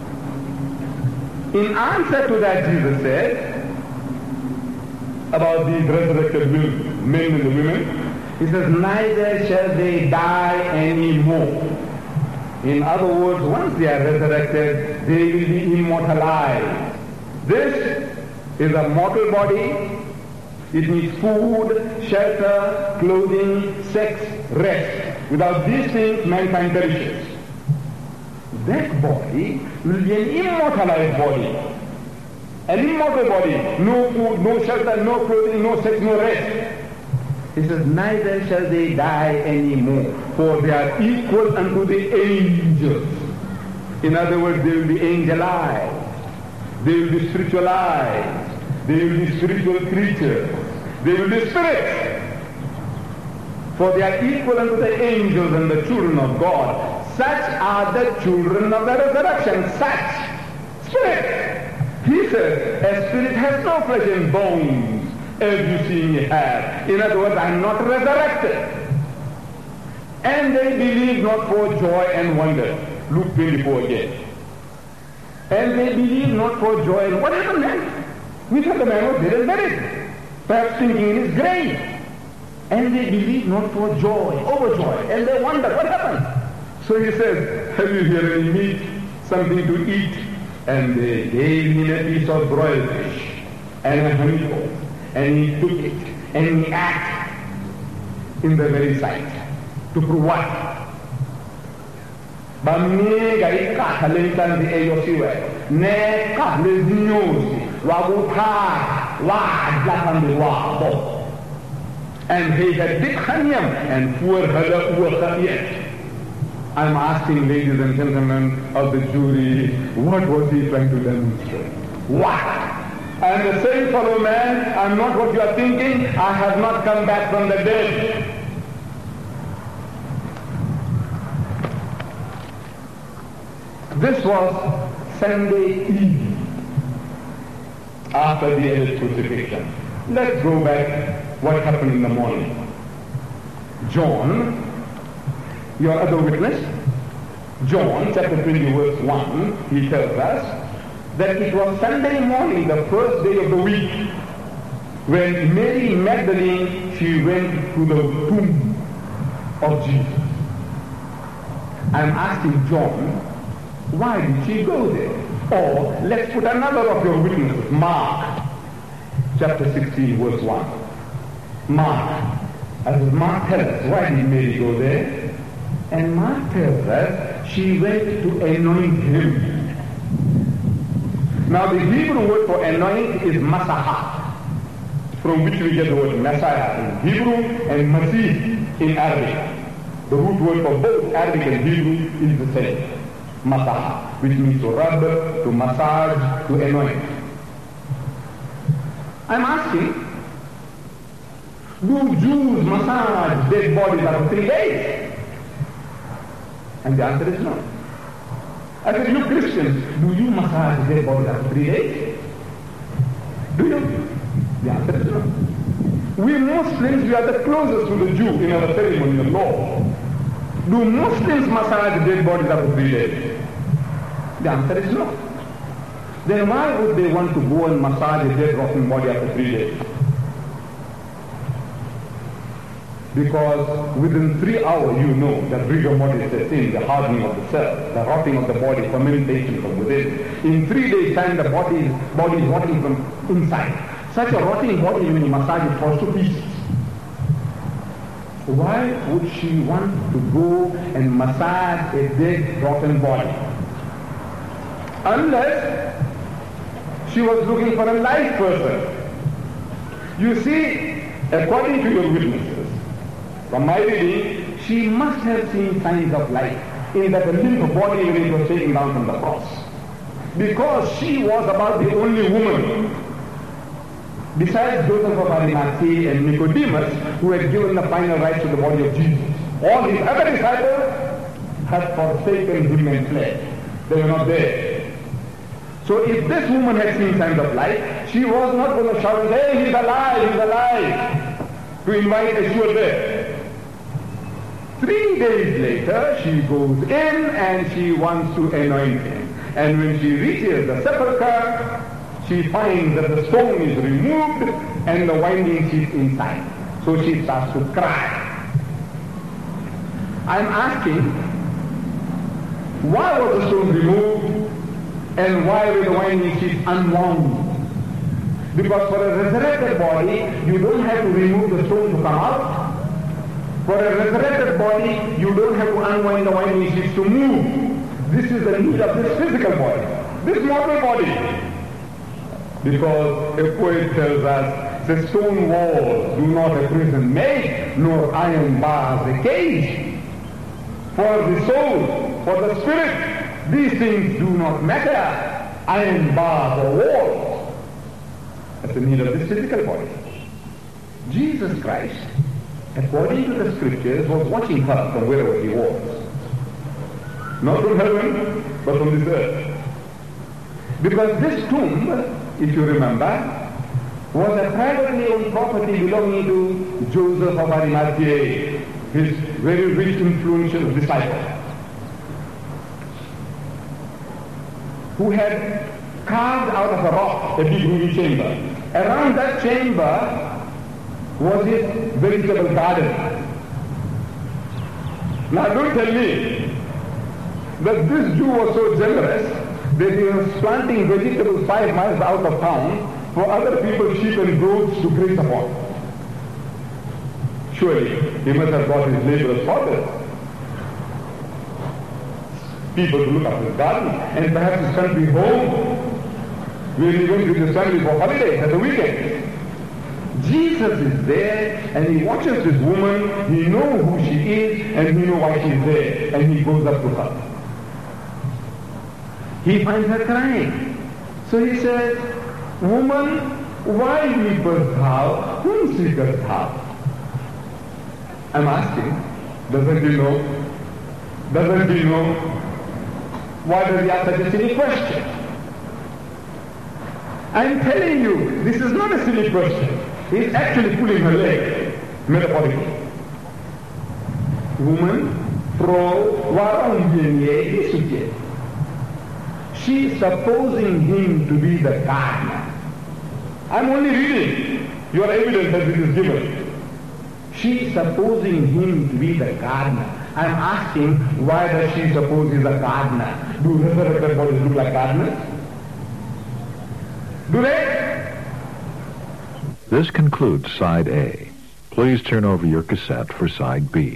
In answer to that, Jesus said about these resurrected men and the women, he says, neither shall they die anymore. In other words, once they are resurrected, they will be immortalized. This is a mortal body. It needs food, shelter, clothing, sex, rest. Without these things, mankind perishes. That body will be an immortalized body. An immortal body. No food, no shelter, no clothing, no sex, no rest. He says, neither shall they die anymore, for they are equal unto the angels. In other words, they will be angelized. They will be spiritualized. They will be spiritual creatures. They will be spirits. For they are equal unto the angels and the children of God. Such are the children of the resurrection. Such spirit. He says, a spirit has no flesh and bones, as you see me have. In other words, I am not resurrected. And they believe not for joy and wonder. Luke 24 again. And they believe not for joy. And what happened then? We thought the man was dead and buried, perhaps thinking in his grave. And they believe not for joy, overjoy. And they wonder, what happened? So he says, have you here any meat, something to eat? And they gave him a piece of broiled fish and a honeycomb. And he took it and he ate in the very sight. To prove what? Bamega ikatha lentanzi eyosiwe ne kahle zinyosi wakutha wadla phambi kwabo. And he had big hanyam and poor hala uwakayet. I'm asking ladies and gentlemen of the jury, what was he trying to demonstrate? What? I am the same fellow man. I'm not what you are thinking. I have not come back from the dead. This was Sunday evening after the alleged crucifixion. Let's go back what happened in the morning. John, your other witness, John chapter 20 verse 1, he tells us that it was Sunday morning, the first day of the week, when Mary Magdalene, she went to the tomb of Jesus. I'm asking John, why did she go there? Or let's put another of your witnesses, Mark, chapter 16, verse 1. Mark, as Mark tells us, why did Mary go there? And Mark tells us she went to anoint him. Now the Hebrew word for anoint is masahah, from which we get the word Messiah in Hebrew and Masih in Arabic. The root word for both Arabic and Hebrew is the same. Masah, which means to rub, to massage, to anoint. I'm asking, do Jews massage dead bodies after 3 days? And the answer is no. I said, you Christians, do you massage dead bodies after 3 days? Do you? The answer is no. We Muslims, we are the closest to the Jew in our ceremony of law. Do Muslims massage dead bodies after 3 days? The answer is no. Then why would they want to go and massage a dead rotting body after 3 days? Because within 3 hours you know that rigor mortis sets in, the hardening of the cell, the rotting of the body, fermentation from within. In 3 days' time the body is rotting from inside. Such a rotting body, when you massage it, falls to pieces. Why would she want to go and massage a dead, rotten body? Unless she was looking for a live person. You see, according to your witnesses, from my reading, she must have seen signs of life in that the limp body when it was taken down from the cross. because she was about the only woman, besides Joseph of Arimathea and Nicodemus, who had given the final rights to the body of Jesus. All his other disciples had forsaken him and fled. They were not there. So if this woman had seen signs of life, she was not going to shout and say, "Hey, he's alive," to invite a sure death. 3 days later, she goes in and she wants to anoint him. And when she reaches the sepulchre, she finds that the stone is removed and the winding sheet inside. So she starts to cry. I'm asking, why was the stone removed and why were the winding sheets unwound? Because for a resurrected body, you don't have to remove the stone to come out. For a resurrected body, you don't have to unwind the winding sheets to move. This is the need of this physical body, this mortal body. Because a poet tells us, the stone walls do not a prison make, nor iron bars a cage. For the soul, for the spirit, these things do not matter, iron bars or walls. That's the need of this physical body. Jesus Christ, according to the scriptures, was watching her from wherever he was. Not from heaven, but from this earth. Because this tomb, if you remember, was a privately owned property belonging to Joseph of Arimathea, his very rich, influential disciple, who had carved out of a rock a big roomy chamber. Around that chamber was his vegetable garden. Now don't tell me that this Jew was so generous that he was planting vegetables 5 miles out of town for other people's sheep and goats to graze upon. Surely he must have got his laborers sorted. People to look after his garden, and perhaps his country home, where he went with his family for holidays at the weekend. Jesus is there, and he watches this woman, he knows who she is, and he knows why she is there, and he goes up to her. He finds her crying. So he says, "Woman, why weepest thou? Whom seekest thou?" I'm asking, doesn't he know? Doesn't he know? Why does he ask such a silly question? I'm telling you, this is not a silly question. He's actually pulling her leg, metaphorically. Woman, pro warum ye. She's supposing him to be the gardener. I'm only reading your evidence as it is given. She's supposing him to be the gardener. I'm asking, why does she suppose he's a gardener? Do resurrected bodies look like gardeners? Do they? This concludes Side A. Please turn over your cassette for Side B.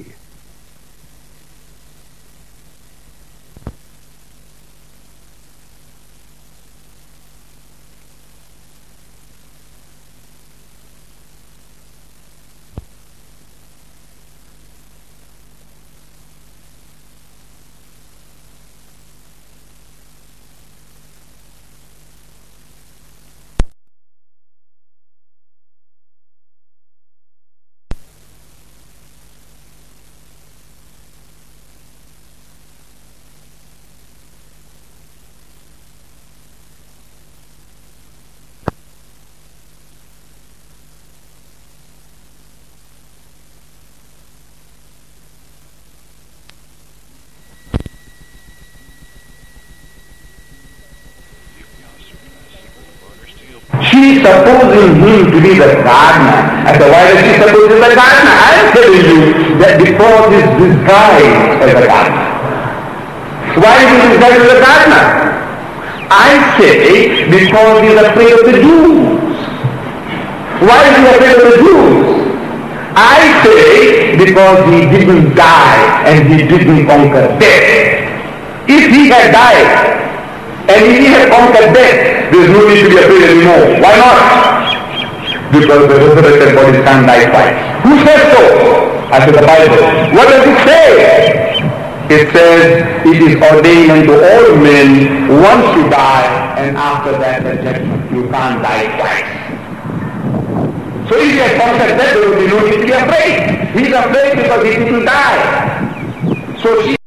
She's supposing him to be the gardener. I said, why does she suppose he's the gardener? I'm telling you that because he's disguised as a gardener. Why is he disguised as a gardener? I say because he's afraid of the Jews. Why is he afraid of the Jews? I say because he didn't die and he didn't conquer death. If he had died and if he had conquered death, there's no need to be afraid anymore. Why not? Because the resurrected bodies can't die twice. Who says so? I said the Bible. What does it say? it says it is ordained unto all men once to die, and after that the judgment. You can't die twice. So if he had conquered that, there would be no need to be afraid. He's afraid because he didn't die. So she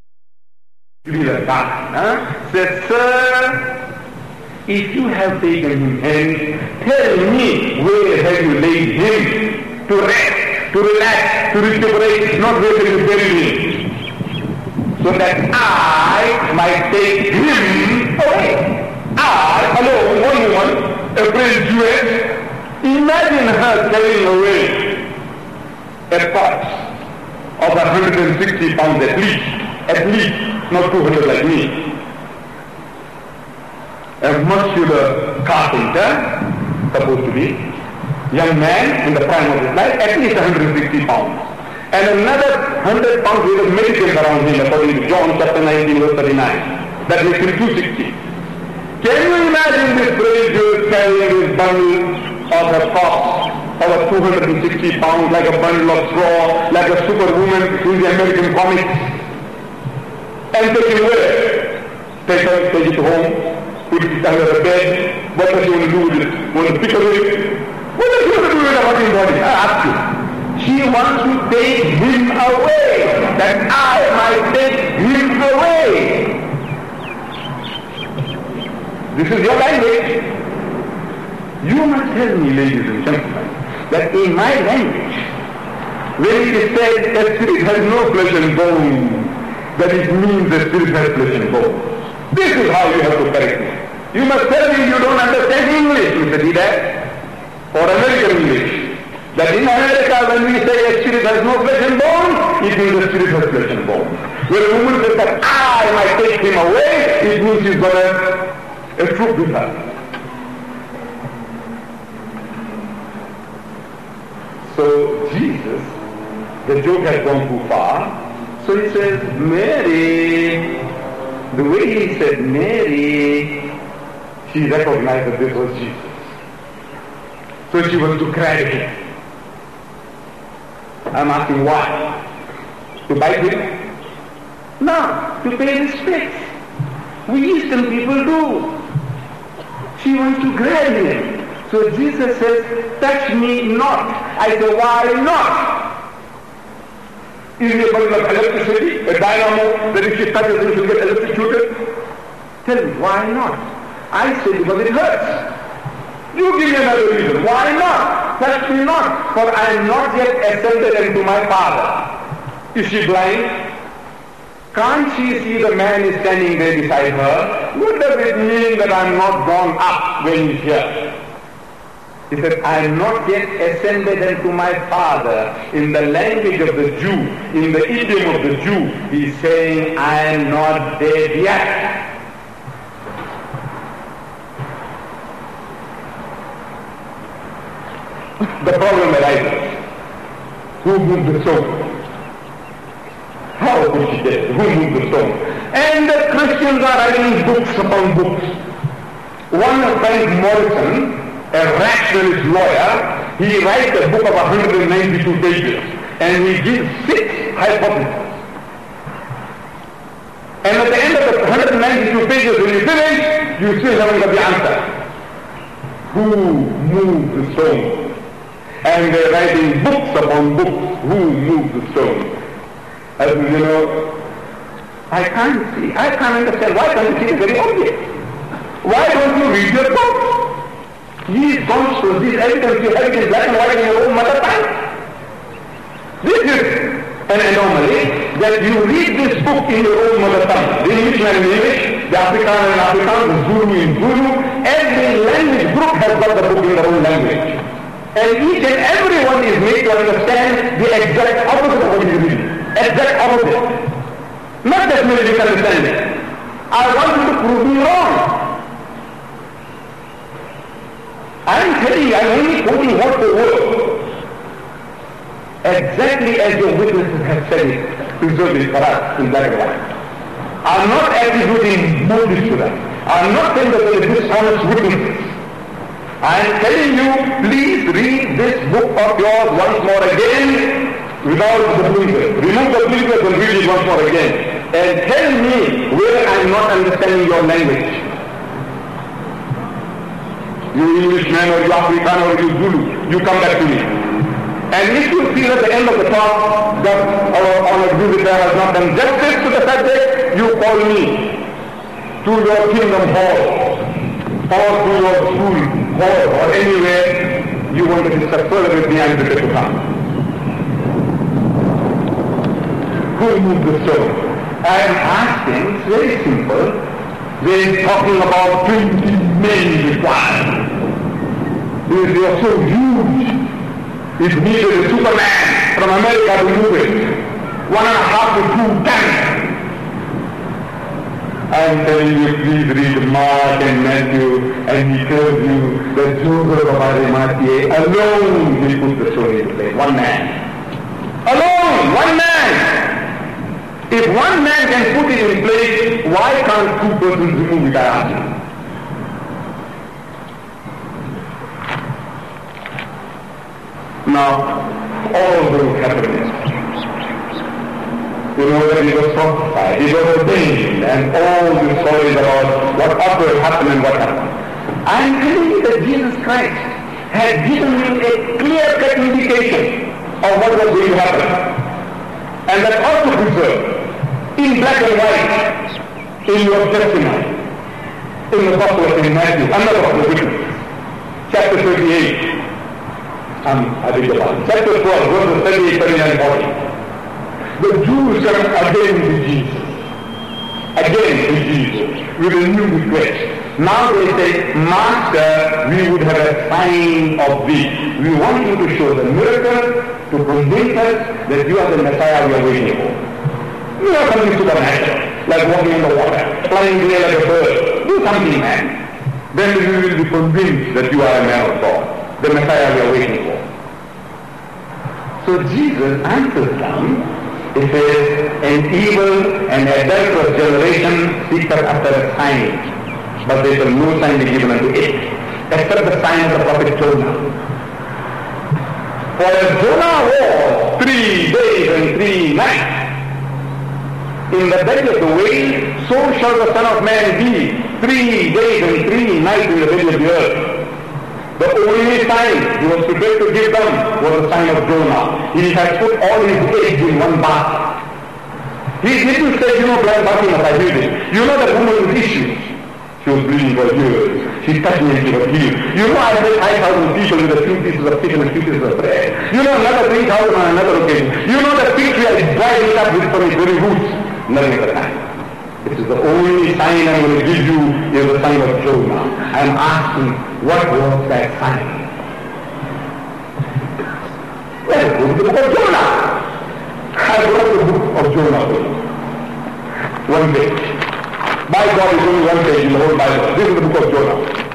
said, Sir, if you have taken him hence, tell me where have you laid him to rest, to relax, to recuperate, not where you bury him, so that I might take him away. I, alone, one woman, a brave Jewess, imagine her carrying away a corpse of 160 pounds at least, not 200 like me. A muscular carpenter, supposed to be, young man in the prime of his life, at least 160 pounds. And another 100 pounds weight of medicines around him, according to John chapter 19, verse 39. That makes him 260. Can you imagine this brave Jew carrying this bundle of a corpse of 260 pounds, like a bundle of straw, like a superwoman in the American comics, and take it where? Take it home, put it under the bed. What does she want to do with it? Want to pick it away? What does she want to do with the working body? I ask you. She wants to take him away, that I might take him away. This is your language. You must tell me, ladies and gentlemen, that in my language, when it is said a spirit has no flesh and bone, that it means the spirit has flesh and bone. This is how you have to correct me. You must tell me you don't understand English, Mr. Didak, or American English. That in America, when we say a spirit has no flesh and bone, it means the spirit has flesh and bone. When a woman says that I might take him away, it means she's got a troop with her. So Jesus, the joke has gone too far. So he says, Mary. The way he said Mary, she recognized that this was Jesus. So she was to cry him. I'm asking why? To bite him? No, to pay respect. We Eastern people do. She wants to grab him. So Jesus says, touch me not. I say, why not? Is he a bundle of electricity, a dynamo, that if she touches him, she'll get electrocuted? Tell me, why not? I say, because it hurts. You give me another reason. Why not? Touch me not, for I am not yet ascended into my Father. Is she blind? Can't she see the man is standing there beside her? What does it mean that I am not gone up when he's here? He said, I am not yet ascended into my Father. In the language of the Jew, in the idiom of the Jew, he's saying, I am not dead yet. The problem arises. Who moved the stone? How was she dead? Who moved the stone? And the Christians are writing books upon books. One of Frank Morrison, a rationalist lawyer, he writes a book of 192 pages, and he gives 6 hypotheses. And at the end of the 192 pages, when you finish, you still haven't got the answer. Who moved the stone? And they're writing books upon books. Who moved the stone? As you know, I can't see. I can't understand. Why can't you see it very obvious? Why don't you read your book? These concepts, these evidence, you have it in black and white in your own mother tongue. This is an anomaly, that you read this book in your own mother tongue. The Englishman in English, the Afrikaner in Afrikaans, the Zulu in Zulu. Every language group has got the book in their own language. And each and every one is made to understand the exact opposite of what he is reading. Exact opposite. Not that merely misunderstanding. I want you to prove me wrong. I'm telling you, I'm only quoting word for word. Exactly as your witnesses have said it, preserved it for us in black and white. I'm not attributing motives to them. I'm not saying that they are dishonest witnesses. I'm telling you, please read this book of yours once more again without the blinkers. Remove the blinkers and read it once more again. and tell me where I'm not understanding your language. You Englishman or you African or you Zulu, you come back to me. And if you feel at the end of the talk that our honored visitor has not done justice to the subject, you call me to your kingdom hall or to your school hall or anywhere you want to discuss further with me. I'm prepared to come. Who moved the stone? I am asking, it's very simple. They're talking about 20 men required. They are so huge. It needed a Superman from America to move it. 1.5 to 2 tons. I'm telling you, please read Mark and Matthew, and he tells you that Joseph of Arimathea alone will put the story into place. One man. Alone! One man! If one man can put it in place, why can't 2 persons remove it? I ask you. Now, all those happenings, you know that he was prophesied, he was ordained, and all the stories about what ought to have happened and what happened. I am telling you that Jesus Christ had given you a clear-cut indication of what was going to happen. And that ought to preserve in black and white in your testimony. In the Gospel of St. Matthew, another of the witnesses, chapter 38. I beg your pardon. Chapter 12, verses 38, 39, 40. The Jews come again to Jesus. Again to Jesus with a new request. Now they say, Master, we would have a sign of thee. We want you to show the miracle to convince us that you are the Messiah we are waiting for. You are something supernatural, like walking in the water, flying away like a bird. Do something, man. Then we will be convinced that you are a man of God, the Messiah we are waiting for. So Jesus answers them. He says, an evil and adulterous generation seeketh after a sign, but there shall no sign be given unto it, except the sign of the prophet Jonah. For as Jonah was 3 days and 3 nights in the belly of the whale, so shall the Son of Man be 3 days and 3 nights in the belly of the earth. The only sign he was prepared to give them was the sign of Jonah. He has put all his eggs in one basket. He didn't say, blood basket of I You know that woman with issues. She was bleeding for years. She touched me and she was healed. I had 5,000 people with a few pieces of fish and a few pieces of bread. Another 3,000 on another occasion. That fig tree I dried it up from its very roots. Nothing at the time. It is the only sign I'm going to give you is the sign of Jonah. I'm asking, what was that sign? Well, go to the book of Jonah. I brought the book of Jonah for you. 1 page. By God, it's only 1 page in the whole Bible. This is the book of Jonah.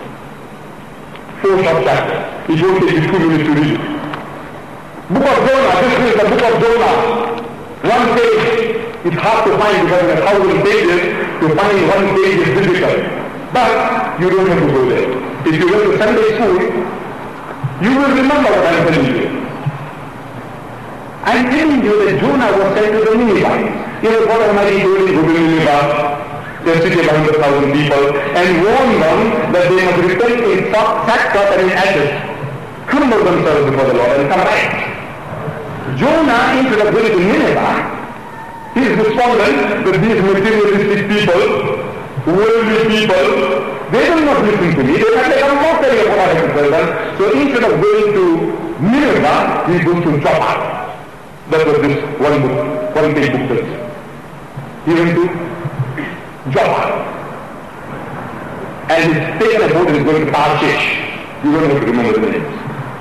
4 short chapters. It won't take you 2 minutes to read it. Book of Jonah. This is the book of Jonah. 1 page. It's hard to find because there are 1,000 pages. To find 1 page is difficult. But you don't have to go there. If you go to Sunday school, you will remember what I'm telling you. I'm telling you that Jonah was sent to the Ninevites. God Almighty told him to go to Nineveh, the city of 100,000 people, and warned them that they must repent in sackcloth and in ashes, humble themselves before the Lord and come back. Jonah, instead of going to Nineveh, he is despondent that these materialistic people, worldly people, they will not listen to me. They have become mockery of what I have told them. So instead of going to Nineveh, he goes to Joppa. That was this one page book. He went to Joppa. And he's taken a boat and is going to Tarshish. You don't have to remember the names.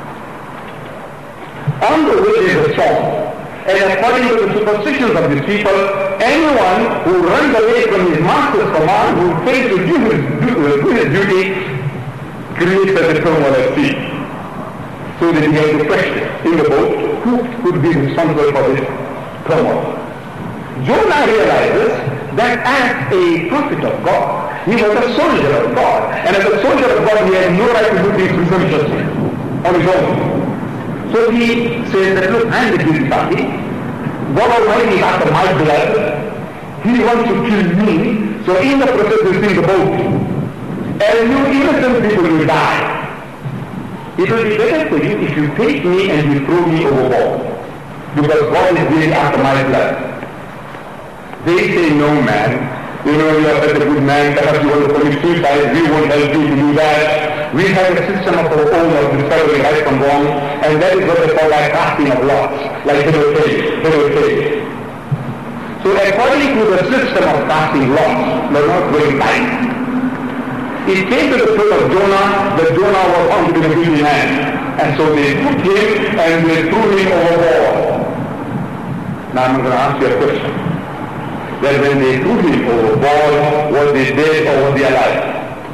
On the way there is a storm. And according to the superstitions of these people, anyone who runs away from his master's command, who fails to do his duty, creates a turmoil at sea. So that he has to question in the boat, who could be responsible for this turmoil? Jonah realizes that as a prophet of God, he was a soldier of God. And as a soldier of God, he had no right to do things presumptuously on his own. So he says that, look, I'm the guilty party. God Almighty is after my blood. He wants to kill me, so in the process he'll think about me. And you innocent people will die. It will be better for you if you take me and you throw me overboard. Because God is really after my blood. They say, no man, you know, you are such a good man, perhaps you want to commit suicide, we won't help you to do that. We have a system of our own of discovering right from wrong, and that is what they call like casting of lots, like they will say. So according to the system of casting lots, they're not going right. It came to the throat of Jonah, that Jonah was found to be a guilty man. And so they took him and they threw him overboard. Now I'm going to ask you a question. That when they threw him overboard, was they dead or was he alive?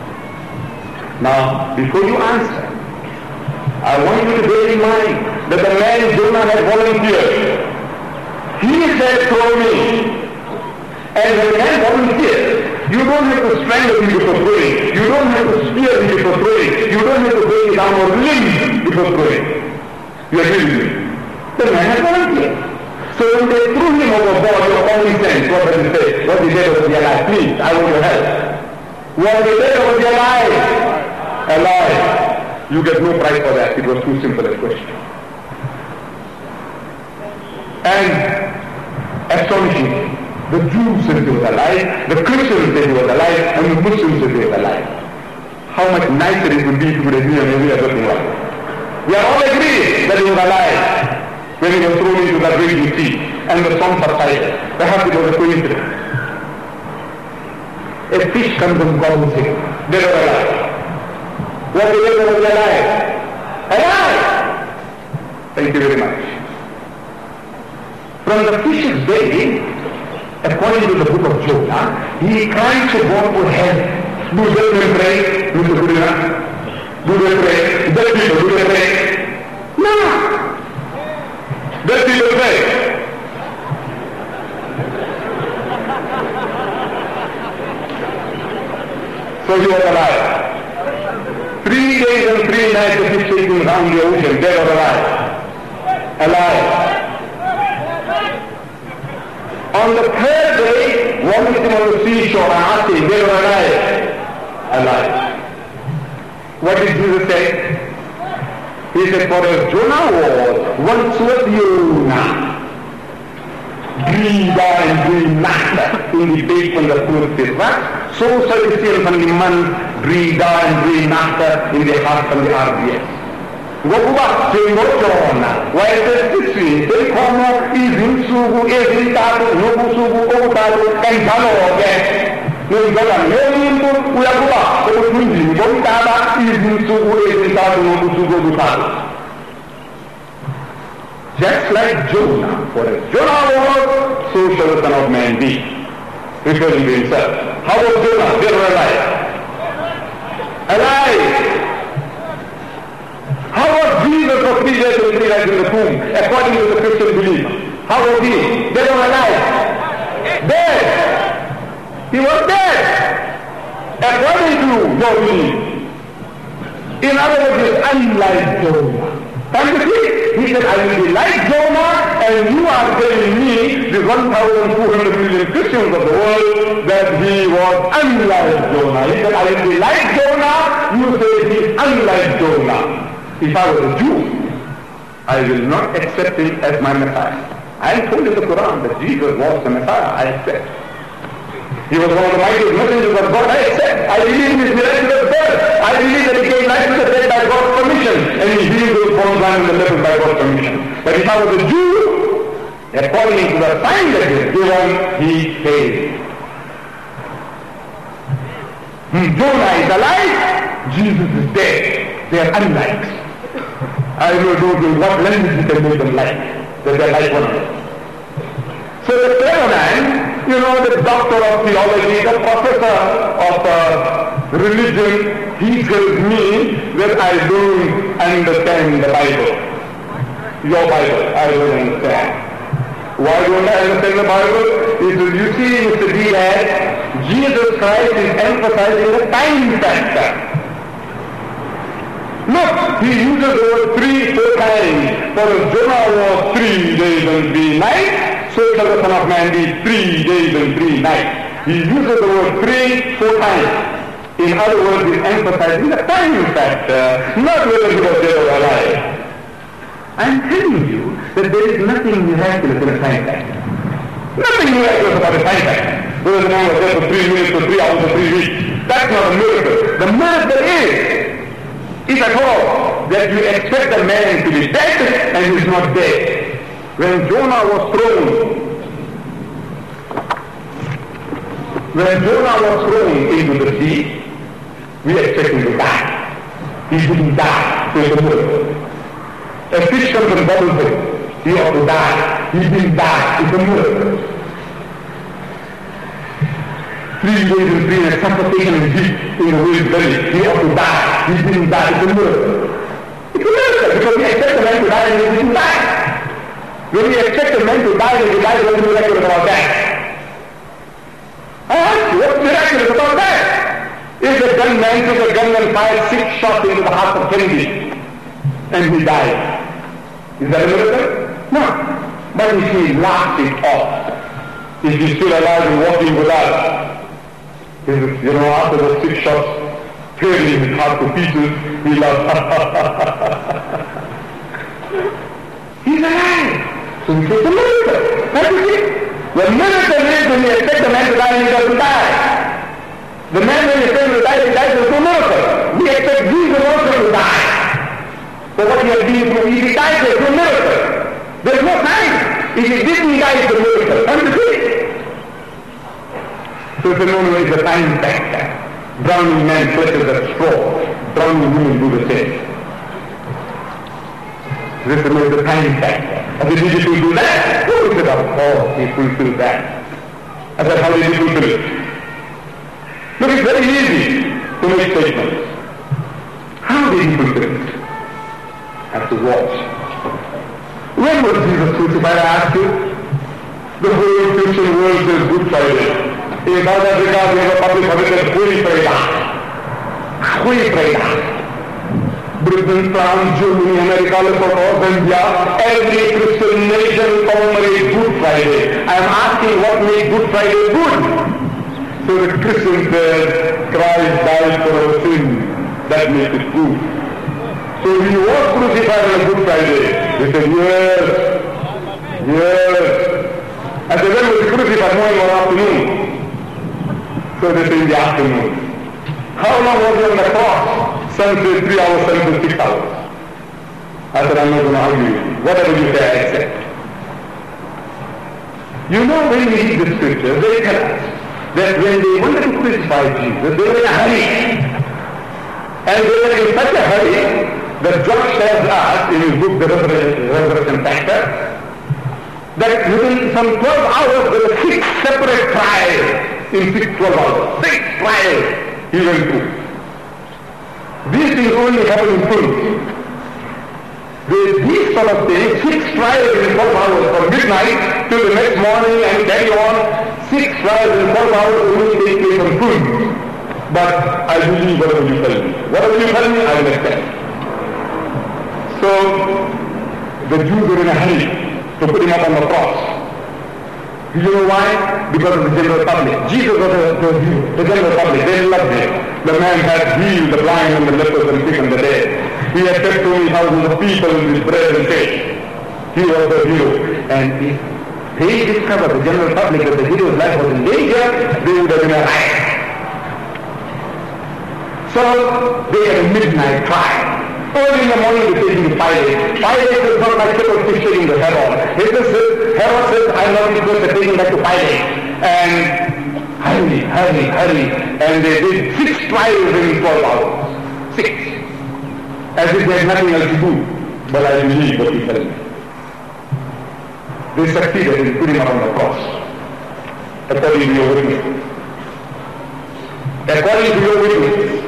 Now, before you answer, I want you to bear in mind that the man Jonah had volunteered. He said, throw me. And when the man volunteered, you don't have to strangle him before throwing. You don't have to spear him before throwing. You don't have to break his arm or limb before throwing. You agree with me? The man had volunteered. So when they threw him overboard, your common sense, what does it say? Was he dead or was he alive? Please, I want your help. Was he dead or was he alive? Alive. You get no prize for that. It was too simple a question. And astonishing. The Jews said he was alive, the Christians said he was alive, and the Muslims said he was alive. How much nicer it would be if you would agree on every other thing like that. We are all agreed that he was alive when he was thrown into that raging sea, and the storm subsided. Perhaps it was a coincidence. A fish comes and gobbles him, dead or alive. Was he dead or was he alive? Alive! Thank you very much. From the fish's belly, according to the book of Jonah, he cried to God for help. Do they pray? Do they pray? Do they pray? Dead people, do they pray? No. Dead people pray. So he was alive. 3 days and 3 nights of his taking around the ocean, dead or alive. Alive. On the 3rd day, walking on the seashore and asking, they were alive. Alive. What did Jesus say? He said, for as Jonah once was Jonah, breathe and breathe not in the bait from the food fish, right? So shall the seal from the man, breathe and breathe not in the heart from the RBS. Gokuba, Jona, why does this mean? They come up, Izin Sugu, Ezin Tato, Nobu Sugu, Otato, and Talo again. No, Galan, we are Goba, so Izin, Botaba, Izin Sugu, Ezin Tato, Nobu Sugu, Otato. Just like Jonah, for as Jonah was, so shall the Son of Man be. Referring to himself. How was Jonah? They were alive. Alive. How was Jesus for 3 days and 3 nights in the tomb, according to the Christian belief? How was he? Dead or alive? Dead. He was dead. According to your belief. In other words, it's unlike Jonah. Can't you see? He said, I will be like Jonah, and you are telling me, the 1,200 million Christians of the world, that he was unlike Jonah. He said, I will be like Jonah, you say he is unlike Jonah. If I was a Jew, I will not accept him as my Messiah. I am told in the Quran that Jesus was the Messiah. I accept. He was one of the mightiest messengers of God. I accept. I believe in his miraculous birth. I believe that he gave life to the dead by God's permission, and he healed those born blind and the lepers by God's permission. But if I was a Jew, according to the sign that he was given, he failed. Jonah is alive. Jesus is dead. They are unlike. I don't know what language you can make them like, that they are like one another. So the clever man, the doctor of theology, the professor of religion, he tells me that I don't understand the Bible. Your Bible, I don't understand. Why don't I understand the Bible? He says, you see, Mr. Diaz, Jesus Christ is emphasizing the time factor. Look, he uses the word 3, 4 times. For as Jonah was 3 days and 3 nights, so shall the Son of Man be 3 days and 3 nights. He uses the word 3 4 times. In other words, he's emphasizing the time factor, not whether he was dead or alive. I'm telling you that there is nothing miraculous in a time factor. Nothing miraculous about a time factor. Whether the man was dead for 3 minutes or 3 hours or 3 weeks. That's not a miracle. The miracle is, if at all, that you expect a man to be dead and he's not dead. When Jonah was thrown into the sea, we expect him to die. He didn't die, so it's a miracle. A fish comes and bubbles him. He ought to die. He didn't die, it's a miracle. 3 days and 3 nights, suffocation and heat in the whale's belly. He ought to die. He didn't die, it's a miracle. It's a miracle because we expect a man to die and he didn't die. When we expect a man to die and he dies, what's miraculous about that? I ask you, what's miraculous about that? If a gunman took a gun and fired 6 shots into the heart of Kennedy and he died, is that a miracle? No. But if he laughed it off, if he's still alive and walking with us, after the 6 shots tearing his heart to pieces, he laughs. He's alive. So he says, a miracle. That is it. The miracle is when you expect a man to die and he doesn't die. The man when you expect him to die, he dies, there's no miracle. We expect Jesus also to die. So what he has been through, if he dies, there's no miracle. There's no time. If he didn't die, it's a miracle. Understood? So it's a known way, it's a time factor. Drowning man clutches at straw. Drowning women do the same. This is the time factor. And did he do that? Oh, he said, of course, he fulfilled that. I said, how did he fulfill it? Look, it's very easy to make statements. How did he fulfill it? Have to watch. When was Jesus crucified, I ask you? The whole Christian world says Good Friday. In South Africa, we have a public holiday, Holy Friday. Holy Friday. Britain, France, Germany, America, Lesotho, Zambia, every Christian nation commemorates Good Friday. I am asking what makes Good Friday good? So the Christian says, Christ died for our sins. That makes it good. So he was crucified on a Good Friday. They said, yes. I said, when was he crucified, morning or afternoon? So they say in the afternoon. How long was he on the cross? Some say 3 hours, some say 6 hours. I said, I'm not going to argue with you. Whatever you say, I accept. You know, when we read the scriptures, they tell us that when they wanted to crucify Jesus, they were in a hurry. And they were in such a hurry that John tells us in his book, The Resurrection Factor, that within some 12 hours there were 6 separate trials in 12 hours. 6 trials he went through. These things only happen in films. These sort of things, 6 trials in 12 hours from midnight till the next morning and carry on. 6 trials in 12 hours only take place on films. But I believe whatever you tell me. Whatever you tell me, I will accept. So the Jews were in a hurry to put him up on the cross. Do you know why? Because of the general public. Jesus was the general public. They loved him. The man had healed the blind and the lepers and quickened the dead. He had fed so many thousands of people with bread and fish. He was the hero. And if they discovered, the general public, that the hero's life was in danger, they would have been a riot. So they had a midnight trial. Early in the morning they take him to Pilate. Pilate says, not my shepherd fish taking the Herod. Herod says, I'm not going to take him back to Pilate. And hurry. And they did 6 trials in 12 hours. 6. As if they had nothing else to do. But I believe what you tell me. They succeeded in putting him up on the cross. According to your witness. According to your witness.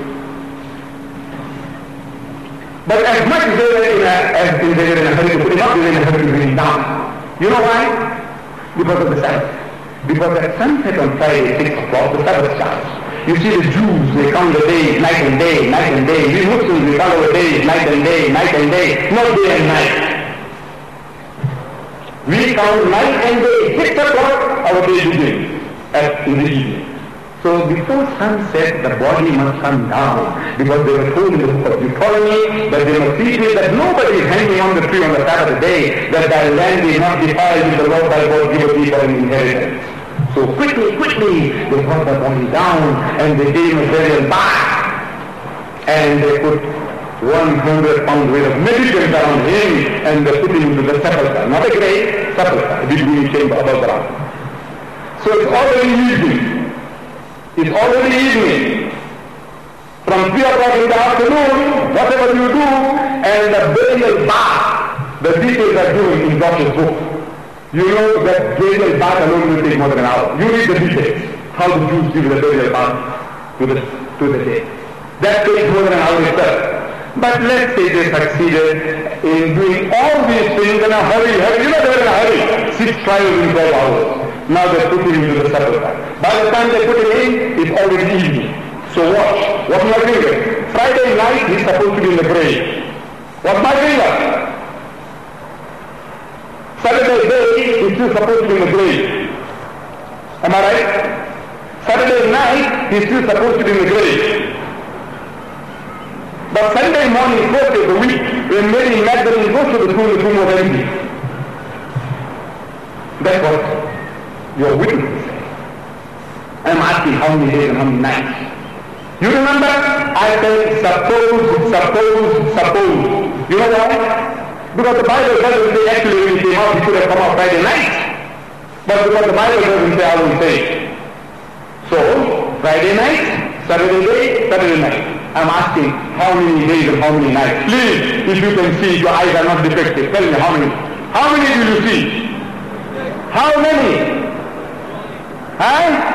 But as much as they were in a hurry to put him up, they were in a hurry to bring him down. You know why? Because of the Sabbath. Because at sunset on Friday, 6 o'clock, the Sabbath starts. You see the Jews, they count the days, night and day. We Muslims, we count our days, night and day, not day and night. We count night and day. 6 o'clock, our day begins in the evening. So before sunset, the body must come down, because they were told in the book of Deuteronomy that they must see to it that nobody is hanging on the tree on the Sabbath day, that thy land is not defiled with the Lord thy God giveth thee for an inheritance. So quickly, they brought the body down, and they gave him a burial bath, and they put 100 pounds weight of medicine around him, and they put him into the sepulchre, not a grave, sepulchre, a big chamber above ground. So it's already evening. It's already evening. From 3 o'clock in the afternoon, whatever you do, and the burial bath, the details are given in Josh's book. You know that burial bath alone will take more than an hour. You read the details. How the Jews give the burial bath to the dead. That takes more than an hour itself. But let's say they succeeded in doing all these things in a hurry. You know they were in a hurry. 6 trials in 12 hours. Now they put him into the sepulchre. By the time they put him in, it's already evening. So watch. What's my finger? Friday night, he's supposed to be in the grave. What's my finger? Saturday day, he's still supposed to be in the grave. Am I right? Saturday night, he's still supposed to be in the grave. But Sunday morning, first of the week, when Mary Magdalene goes to the tomb was empty. That's what your witnesses say. I'm asking how many days and how many nights. You remember? I said, suppose. You know why? Because the Bible doesn't say actually when he came out, he could have come out Friday night. But because the Bible doesn't say, I won't say. So, Friday night, Saturday day, Saturday night. I'm asking how many days and how many nights. Please, if you can see, your eyes are not defective. Tell me how many. How many do you see? How many? Huh?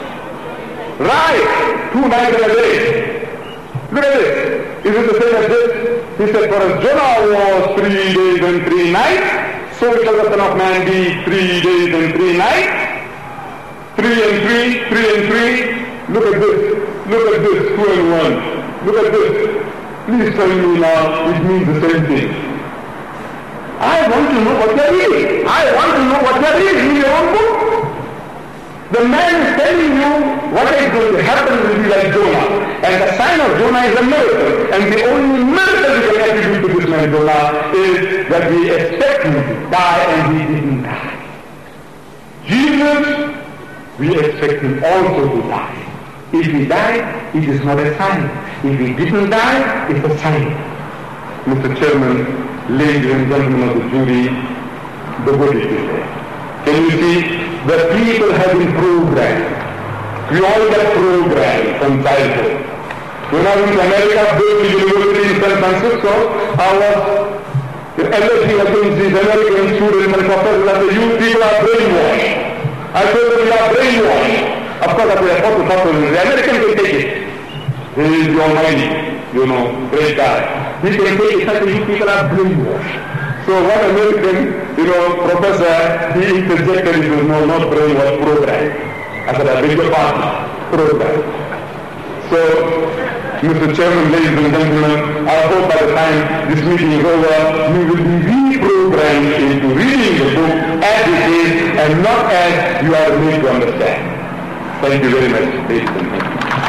Right. 2 nights and a day. Look at this. Is it the same as this? He said, for as Jonah was 3 days and 3 nights, so shall the Son of Man be 3 days and 3 nights. 3 and 3, 3 and 3. Look at this. Look at this. 2 and 1. Look at this. Please tell me now, it means the same thing. I want to know what you're reading. I want to know what you're reading in your own book. The man is telling you what is going to happen will be like Jonah. And the sign of Jonah is a miracle. And the only miracle we can attribute to this man Jonah is that we expect him to die and he didn't die. Jesus, we expect him also to die. If he died, it is not a sign. If he didn't die, it's a sign. Mr. Chairman, ladies and gentlemen of the jury, the verdict is there. Can you see? The people have been programmed. We all get programmed from childhood. When I went to America, built the university in San Francisco, I was alleging against these American students and professors that you people are brainwashed. I told them you are brainwashed. Of course, I was supposed to talk to them. The American can take it. He is the Almighty, great guy. He can take it. I said, you people are brainwashed. So one American, professor, he interjected it with no, not brainwash, program. I said, I beg your pardon, program. So, Mr. Chairman, ladies and gentlemen, I hope by the time this meeting is over, you will be reprogrammed into reading the book as it is and not as you are made to understand. Thank you very much, ladies and gentlemen.